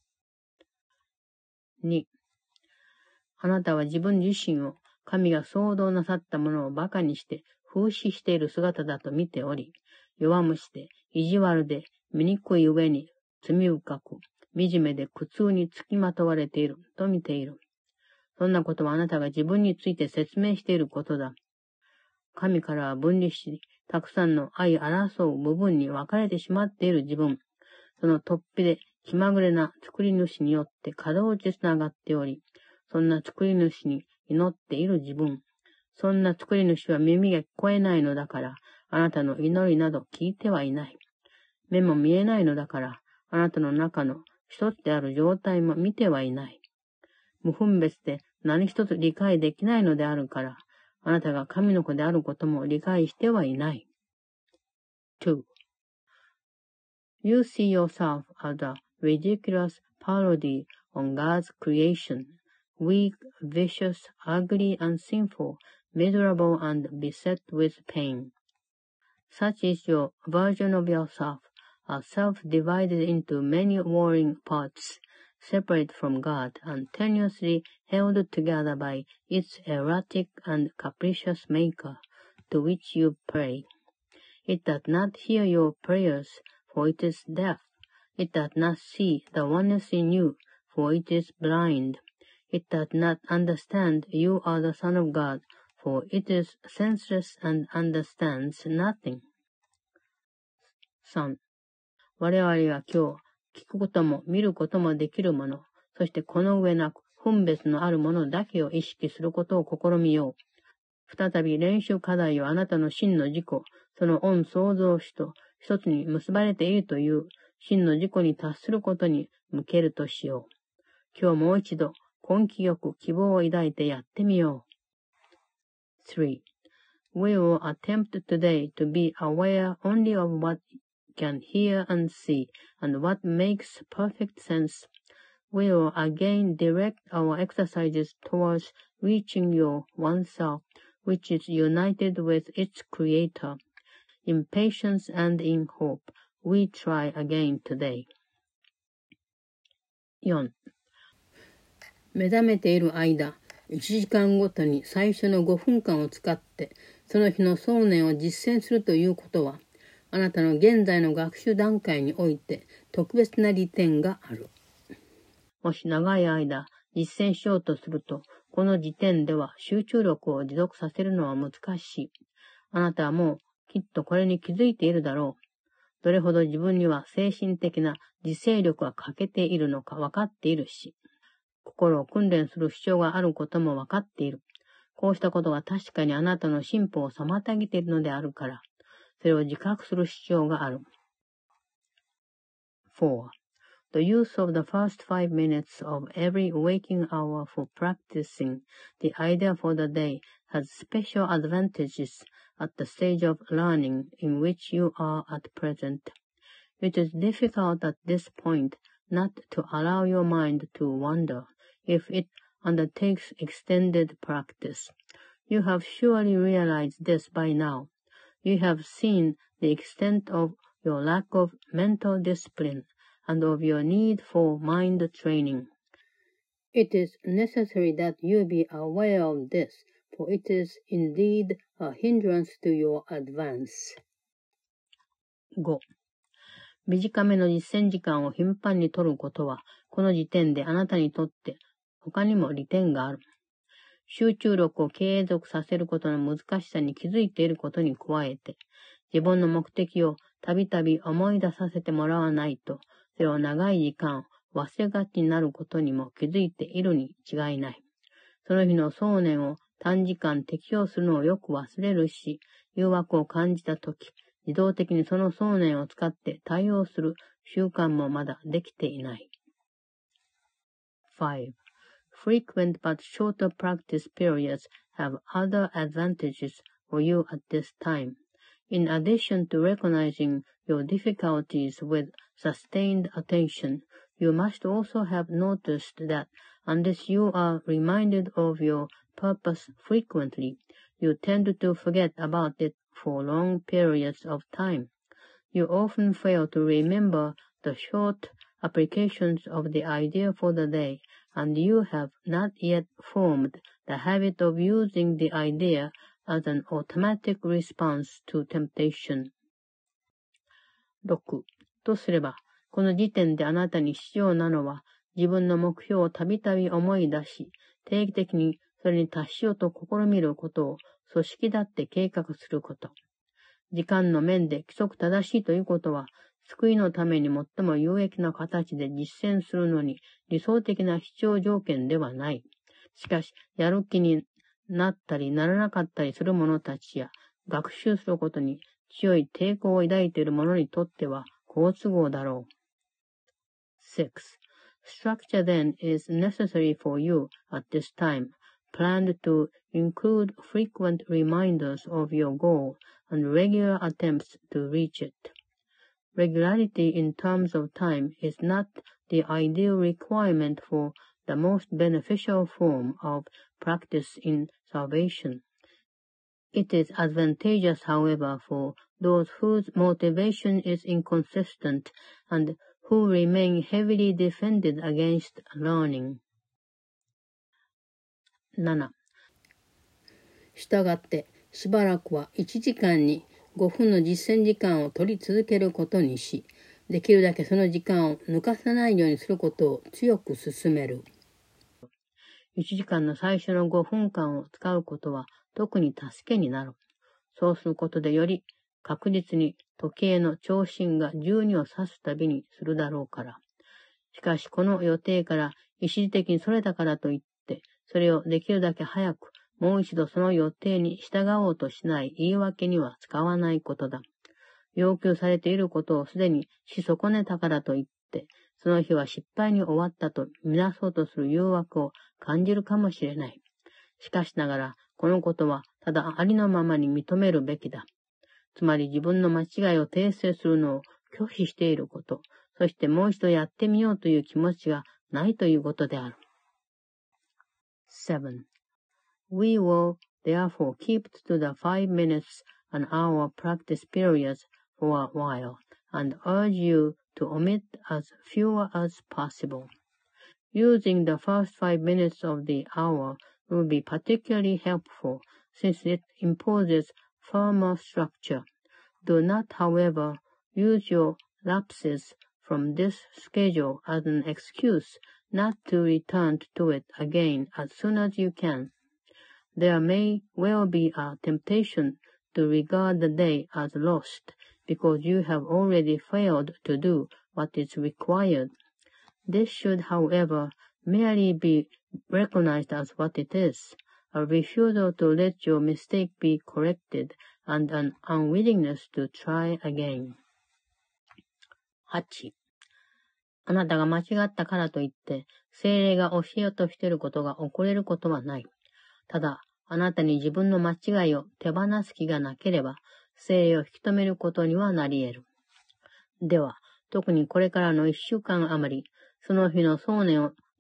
に. あなたは自分自身を神が創造なさったものを馬鹿にして風刺している姿だと見ており、弱虫で意地悪で醜い上に罪深く、惨めで苦痛につきまとわれていると見ている。そんなことはあなたが自分について説明していることだ。神からは分離し、たくさんの愛争う部分に分かれてしまっている自分。その突飛で気まぐれな作り主によって稼働地つながっており、そんな作り主に祈っている自分。そんな作り主は耳が聞こえないのだから、あなたの祈りなど聞いてはいない。目も見えないのだから、あなたの中の一つである状態も見てはいない。無分別で何一つ理解できないのであるから、あなたが神の子であることも理解してはいない。two. You see yourself as a ridiculous parody on God's creation, weak, vicious, ugly and sinful, miserable and beset with pain. Such is your version of yourself, a self divided into many warring parts, separate from God and tenuously held together by its erratic and capricious maker, to which you pray. It does not hear your prayers, for it is deaf. It does not see the oneness in you, for it is blind. It does not understand you are the Son of God, for it is senseless and understands nothing. さん. 我々は今日、聞くことも見ることもできるもの、そしてこの上なく分別のあるものだけを意識することを試みよう。再び練習課題をあなたの真の自己、その御創造主と一つに結ばれているという真の自己に達することに向けるとしよう。今日もう一度根気よく希望を抱いてやってみよう。three. We will attempt today to be aware only of what can hear and see, and what makes perfect sense. We will again direct our exercises towards reaching your oneself, which is united with its creator. In patience and in hope, we try again today. よん. 目覚めている間、いちじかんごとに最初のごふんかんを使って、その日の想念を実践するということは、あなたの現在の学習段階において特別な利点がある。もし長い間実践しようとすると、この時点では集中力を持続させるのは難しい。あなたはもうきっとこれに気づいているだろう。どれほど自分には精神的な自制力が欠けているのか分かっているし、心を訓練する必要があることも分かっている。こうしたことが確かにあなたの進歩を妨げているのであるから、それを自覚する必要がある。four. The use of the first five minutes of every waking hour for practicing the idea for the day has special advantages at the stage of learning in which you are at present. It is difficult at this point not to allow your mind to wander, if it undertakes extended practice. You have surely realized this by now. You have seen the extent of your lack of mental discipline and of your need for mind training. It is necessary that you be aware of this, for it is indeed a hindrance to your advance. ご. 短めの実践時間を頻繁に取ることは、この時点であなたにとって他にも利点がある。集中力を継続させることの難しさに気づいていることに加えて、自分の目的をたびたび思い出させてもらわないと、それを長い時間忘れがちになることにも気づいているに違いない。その日の想念を短時間適用するのをよく忘れるし、誘惑を感じたとき、自動的にその想念を使って対応する習慣もまだできていない。five. Frequent but shorter practice periods have other advantages for you at this time. In addition to recognizing your difficulties with sustained attention, you must also have noticed that unless you are reminded of your purpose frequently, you tend to forget about it for long periods of time. You often fail to remember the short applications of the idea for the day, and you have not yet formed the habit of using the idea as an automatic response to temptation. ろく. とすれば、この時点であなたに必要なのは、自分の目標をたびたび思い出し、定期的にそれに達しようと試みることを組織だって計画すること。時間の面で規則正しいということは、救いのために最も有益な形で実践するのに理想的な必要条件ではない。しかし、やる気になったりならなかったりする者たちや、学習することに強い抵抗を抱いている者にとっては好都合だろう。six. Structure then is necessary for you at this time, planned to include frequent reminders of your goal and regular attempts to reach it. Regularity in terms of time is not the ideal requirement for the most beneficial form of practice in salvation. It is advantageous, however, for those whose motivation is inconsistent and who remain heavily defended against learning. なな. したがって、しばらくはいちじかんにごふんの実践時間を取り続けることにし、できるだけその時間を抜かさないようにすることを強く勧める。いちじかんの最初のごふんかんを使うことは特に助けになる。そうすることでより確実に時計の長針がじゅうにを指すたびにするだろうから。しかしこの予定から一時的にそれたからといって、それをできるだけ早くもう一度その予定に従おうとしない言い訳には使わないことだ。要求されていることをすでにし損ねたからといって、その日は失敗に終わったとみなそうとする誘惑を感じるかもしれない。しかしながら、このことはただありのままに認めるべきだ。つまり自分の間違いを訂正するのを拒否していること、そしてもう一度やってみようという気持ちがないということである。seven. We will therefore keep to the five minutes an hour practice periods for a while and urge you to omit as fewer as possible. Using the first five minutes of the hour will be particularly helpful since it imposes firmer structure. Do not, however, use your lapses from this schedule as an excuse not to return to it again as soon as you can. There may well be a temptation to regard the day as lost because you have already failed to do what is required. This should, however, merely be recognized as what it is, a refusal to let your mistake be corrected and an unwillingness to try again. はち. あなたが間違ったからといって、聖霊が教えようとしていることが遅れることはない。ただ、あなたに自分の間違いを手放す気がなければ、聖霊を引き止めることにはなり得る。では、特にこれからの一週間余り、その日の想念を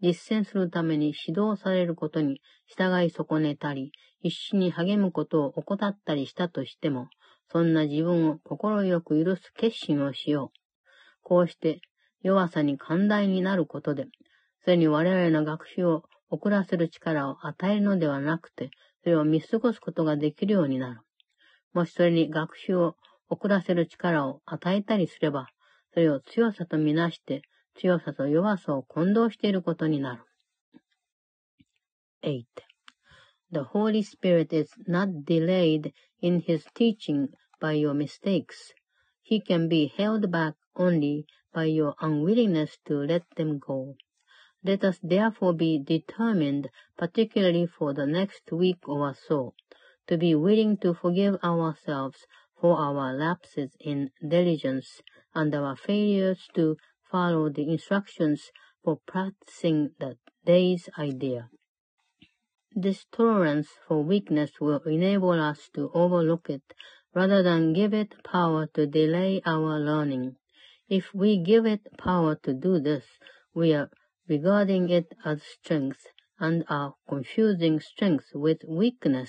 実践するために指導されることに従い損ねたり、必死に励むことを怠ったりしたとしても、そんな自分を心よく許す決心をしよう。こうして弱さに寛大になることで、それに我々の学習を遅らせる力を与えるのではなくて、それを見過ごすことができるようになる。もしそれに学習を遅らせる力を与えたりすれば、それを強さとみなして、強さと弱さを混同していることになる。eight. The Holy Spirit is not delayed in his teaching by your mistakes. He can be held back only by your unwillingness to let them go. Let us therefore be determined, particularly for the next week or so, to be willing to forgive ourselves for our lapses in diligence and our failures to follow the instructions for practicing the day's idea. This tolerance for weakness will enable us to overlook it rather than give it power to delay our learning. If we give it power to do this, we are regarding it as strength and are confusing strength with weakness.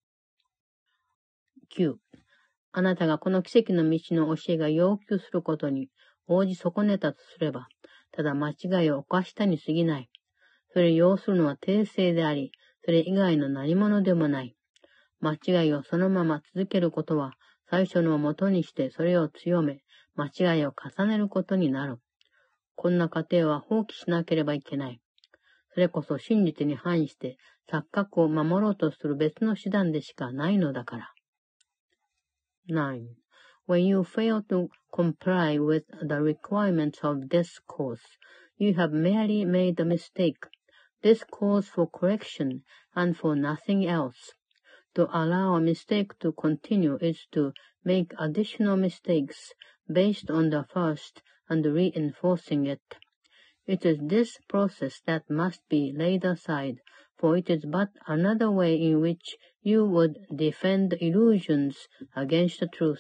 きゅう. あなたがこの奇跡の道の教えが要求することに応じ損ねたとすれば、ただ間違いを犯したに過ぎない。それを要するのは訂正であり、それ以外の何者でもない。間違いをそのまま続けることは、最初のをもとにしてそれを強め、間違いを重ねることになる。こんな過程は放棄しなければいけない。それこそ真実に反して錯覚を守ろうとする別の手段でしかないのだから。nine. When you fail to comply with the requirements of this course, you have merely made a mistake. This calls for correction and for nothing else. To allow a mistake to continue is to make additional mistakes based on the first and reinforcing it. It is this process that must be laid aside, for it is but another way in which you would defend illusions against the truth.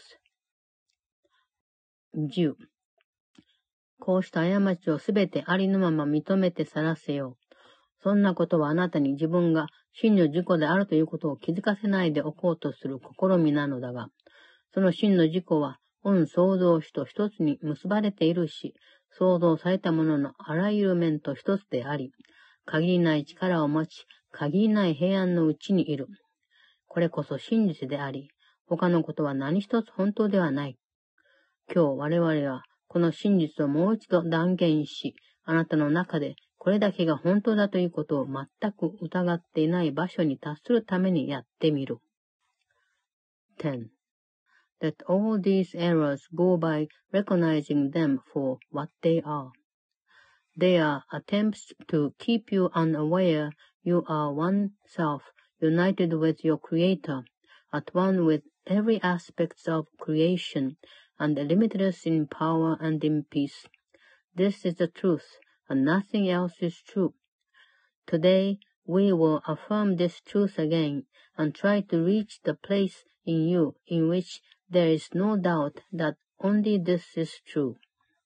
じゅう. こうした過ちをすべてありのまま認めて晒せよう。そんなことはあなたに自分が真の自己であるということを気づかせないでおこうとする試みなのだが、その真の自己は、御創造主と一つに結ばれているし、創造されたもののあらゆる面と一つであり、限りない力を持ち、限りない平安のうちにいる。これこそ真実であり、他のことは何一つ本当ではない。今日我々はこの真実をもう一度断言し、あなたの中でこれだけが本当だということを全く疑っていない場所に達するためにやってみる。ten. Let all these errors go by recognizing them for what they are. They are attempts to keep you unaware you are one self, united with your Creator, at one with every aspect of creation, and limitless in power and in peace. This is the truth, and nothing else is true. Today, we will affirm this truth again, and try to reach the place in you in which there is no doubt that only this is true.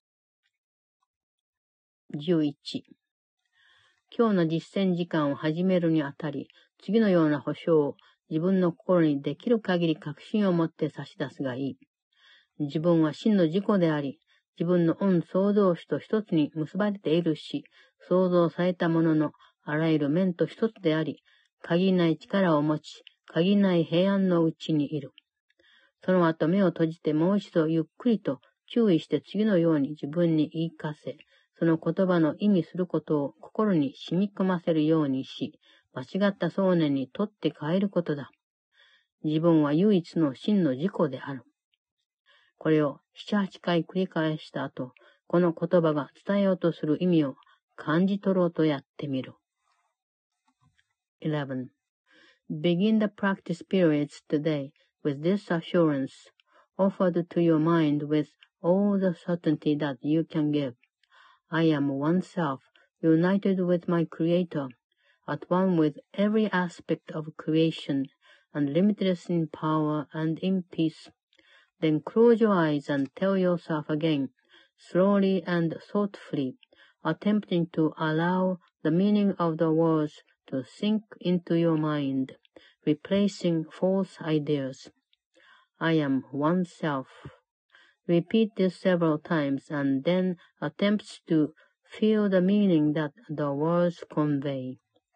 じゅういち. 今日の実践時間を始めるにあたり、次のような保証を自分の心にできる限り確信を持って差し出すがいい。自分は真の自己であり、自分の御創造主と一つに結ばれているし、創造されたもののあらゆる面と一つであり、限りない力を持ち、限りない平安のうちにいる。その後目を閉じてもう一度ゆっくりと注意して次のように自分に言い聞かせ、その言葉の意味することを心に染み込ませるようにし、間違った想念にとって変えることだ。自分は唯一の真の自己である。これを七八回繰り返した後、この言葉が伝えようとする意味を感じ取ろうとやってみる。eleven. Begin the practice periods today with this assurance, offered to your mind with all the certainty that you can give. I am one self, united with my Creator, at one with every aspect of creation, and limitless in power and in peace. Then close your eyes and tell yourself again, slowly and thoughtfully, attempting to allow the meaning of the words to sink into your mind, replacing false ideas. I am oneself. Repeat this several times and then attempt to feel the meaning that the words convey.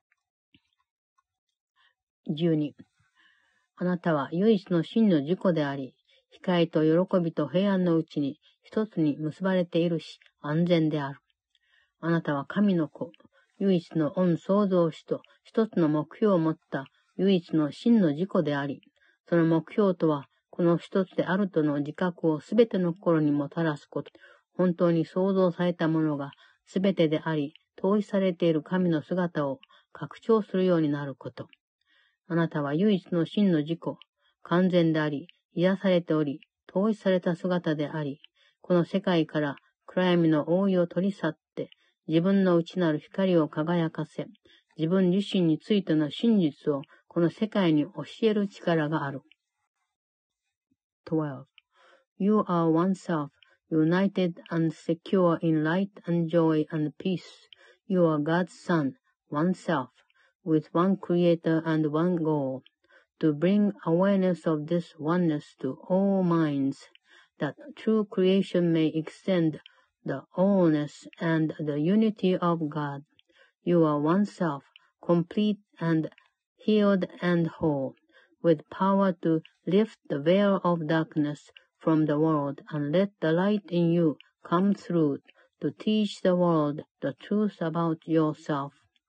じゅうに. あなたは唯一の真の自己であり、光と喜びと平安のうちに一つに結ばれているし、安全である。あなたは神の子、唯一の御創造主と一つの目標を持った唯一の真の自己であり、その目標とは、この一つであるとの自覚をすべての心にもたらすこと。本当に創造されたものがすべてであり、統一されている神の姿を拡張するようになること。あなたは唯一の真の自己、完全であり、癒されており、統一された姿であり、この世界から暗闇の覆いを取り去って、自分の内なる光を輝かせ、自分自身についての真実をこの世界に教える力がある。twelve. You are oneself, united and secure in light and joy and peace. You are God's Son, oneself, with one Creator and one goal, to bring awareness of this oneness to all minds, that true creation may extend the allness and the unity of God. You are oneself, complete and healed and whole, with power to lift the veil of darkness from the world and let the light in you come through to teach the world the truth about yourself.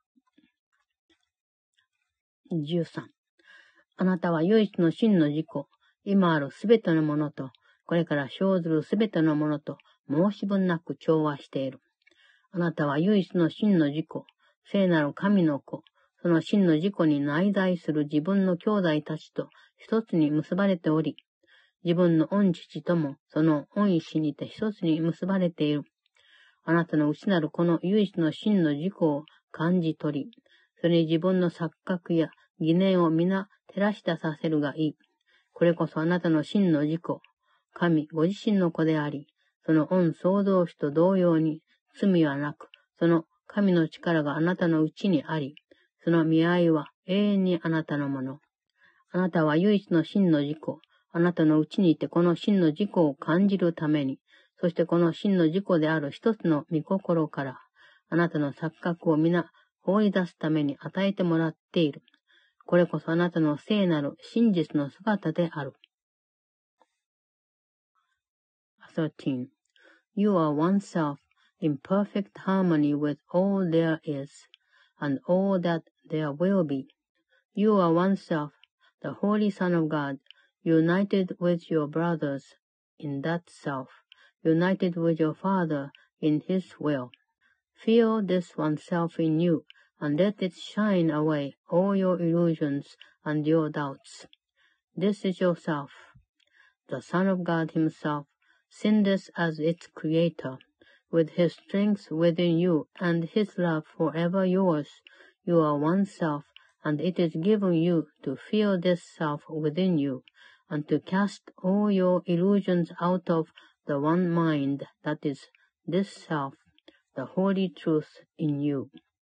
じゅうさん. あなたは唯一の真の自己、今あるすべてのものと、これから生ずるすべてのものと申し分なく調和している。あなたは唯一の真の自己、聖なる神の子、その真の自己に内在する自分の兄弟たちと一つに結ばれており、自分の御父ともその御意志にて一つに結ばれている。あなたの内なるこの唯一の真の自己を感じ取り、それに自分の錯覚や疑念を皆照らし出させるがいい。これこそあなたの真の自己、神ご自身の子であり、その御創造主と同様に罪はなく、その神の力があなたのうちにあり、その見合いは永遠にあなたのもの。あなたは唯一の真の自己、あなたのうちにいてこの真の自己を感じるために、そしてこの真の自己である一つの御心から、あなたの錯覚を皆放り出すために与えてもらっている。これこそあなたの聖なる真実の姿である。thirteen. You are oneself in perfect harmony with all there is, and all that there will be. You are oneself, the Holy Son of God, united with your brothers in that self, united with your Father in His will. Feel this oneself in you, and let it shine away all your illusions and your doubts. This is yourself, the Son of God Himself, sinless as its Creator, with His strength within you and His love forever yours. You are one self, and it is given you to feel this self within you, and to cast all your illusions out of the one mind that is this self, the holy truth in you.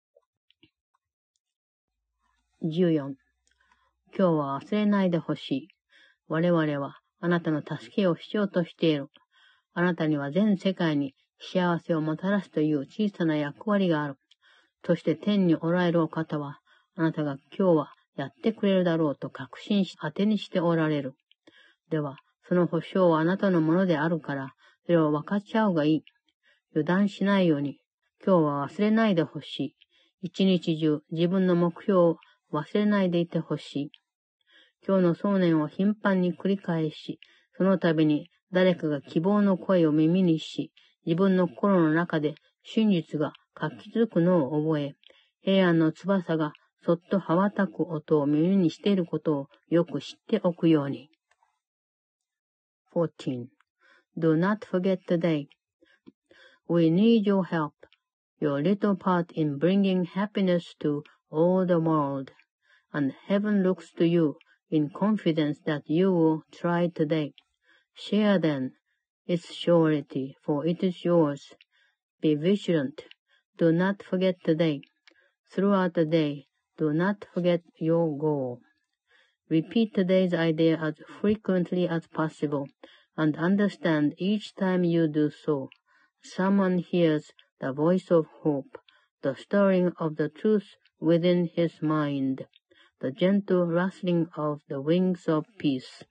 じゅうよん. 今日は忘れないでほしい。我々はあなたの助けを必要としている。あなたには全世界に幸せをもたらすという小さな役割がある。そして天におられるお方は、あなたが今日はやってくれるだろうと確信し当てにしておられる。では、その保証はあなたのものであるから、それを分かち合うがいい。油断しないように、今日は忘れないでほしい。一日中自分の目標を忘れないでいてほしい。今日の想念を頻繁に繰り返し、その度に誰かが希望の声を耳にし、自分の心の中で真実が活気づくのを覚え、平安の翼がそっと羽ばたく音を耳にしていることをよく知っておくように。fourteen. Do not forget today. We need your help, your little part in bringing happiness to all the world, and heaven looks to you in confidence that you will try today. Share then its surety, for it is yours. Be vigilant. Do not forget today. throughout the day. Do not forget your goal. Repeat today's idea as frequently as possible, and understand each time you do so, someone hears the voice of hope, the stirring of the truth within his mind, the gentle rustling of the wings of peace.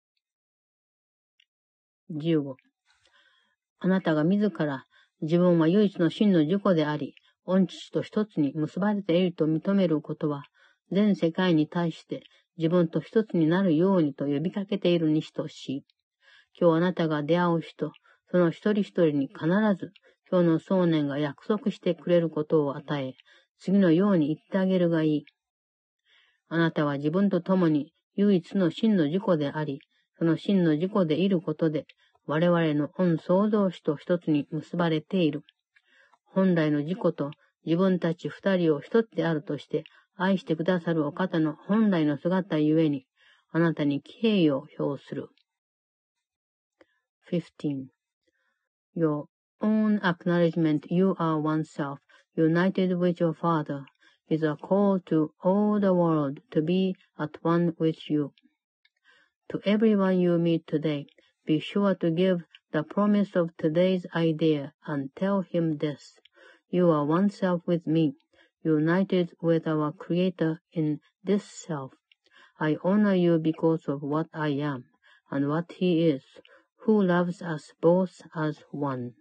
じゅうご. あなたが自ら自分は唯一の真の自己であり、御父と一つに結ばれていると認めることは、全世界に対して自分と一つになるようにと呼びかけているに等しい。今日あなたが出会う人、その一人一人に必ず今日の想念が約束してくれることを与え、次のように言ってあげるがいい。あなたは自分と共に唯一の真の自己であり、その真の自己でいることで、我々の御創造主と一つに結ばれている。本来の自己と自分たち二人を一つであるとして愛してくださるお方の本来の姿ゆえに、あなたに敬意を表する。fifteen. Your own acknowledgement you are oneself, united with your Father, is a call to all the world to be at one with you. To everyone you meet today, be sure to give the promise of today's idea and tell him this. You are one self with me, united with our Creator in this self. I honor you because of what I am and what He is, who loves us both as one.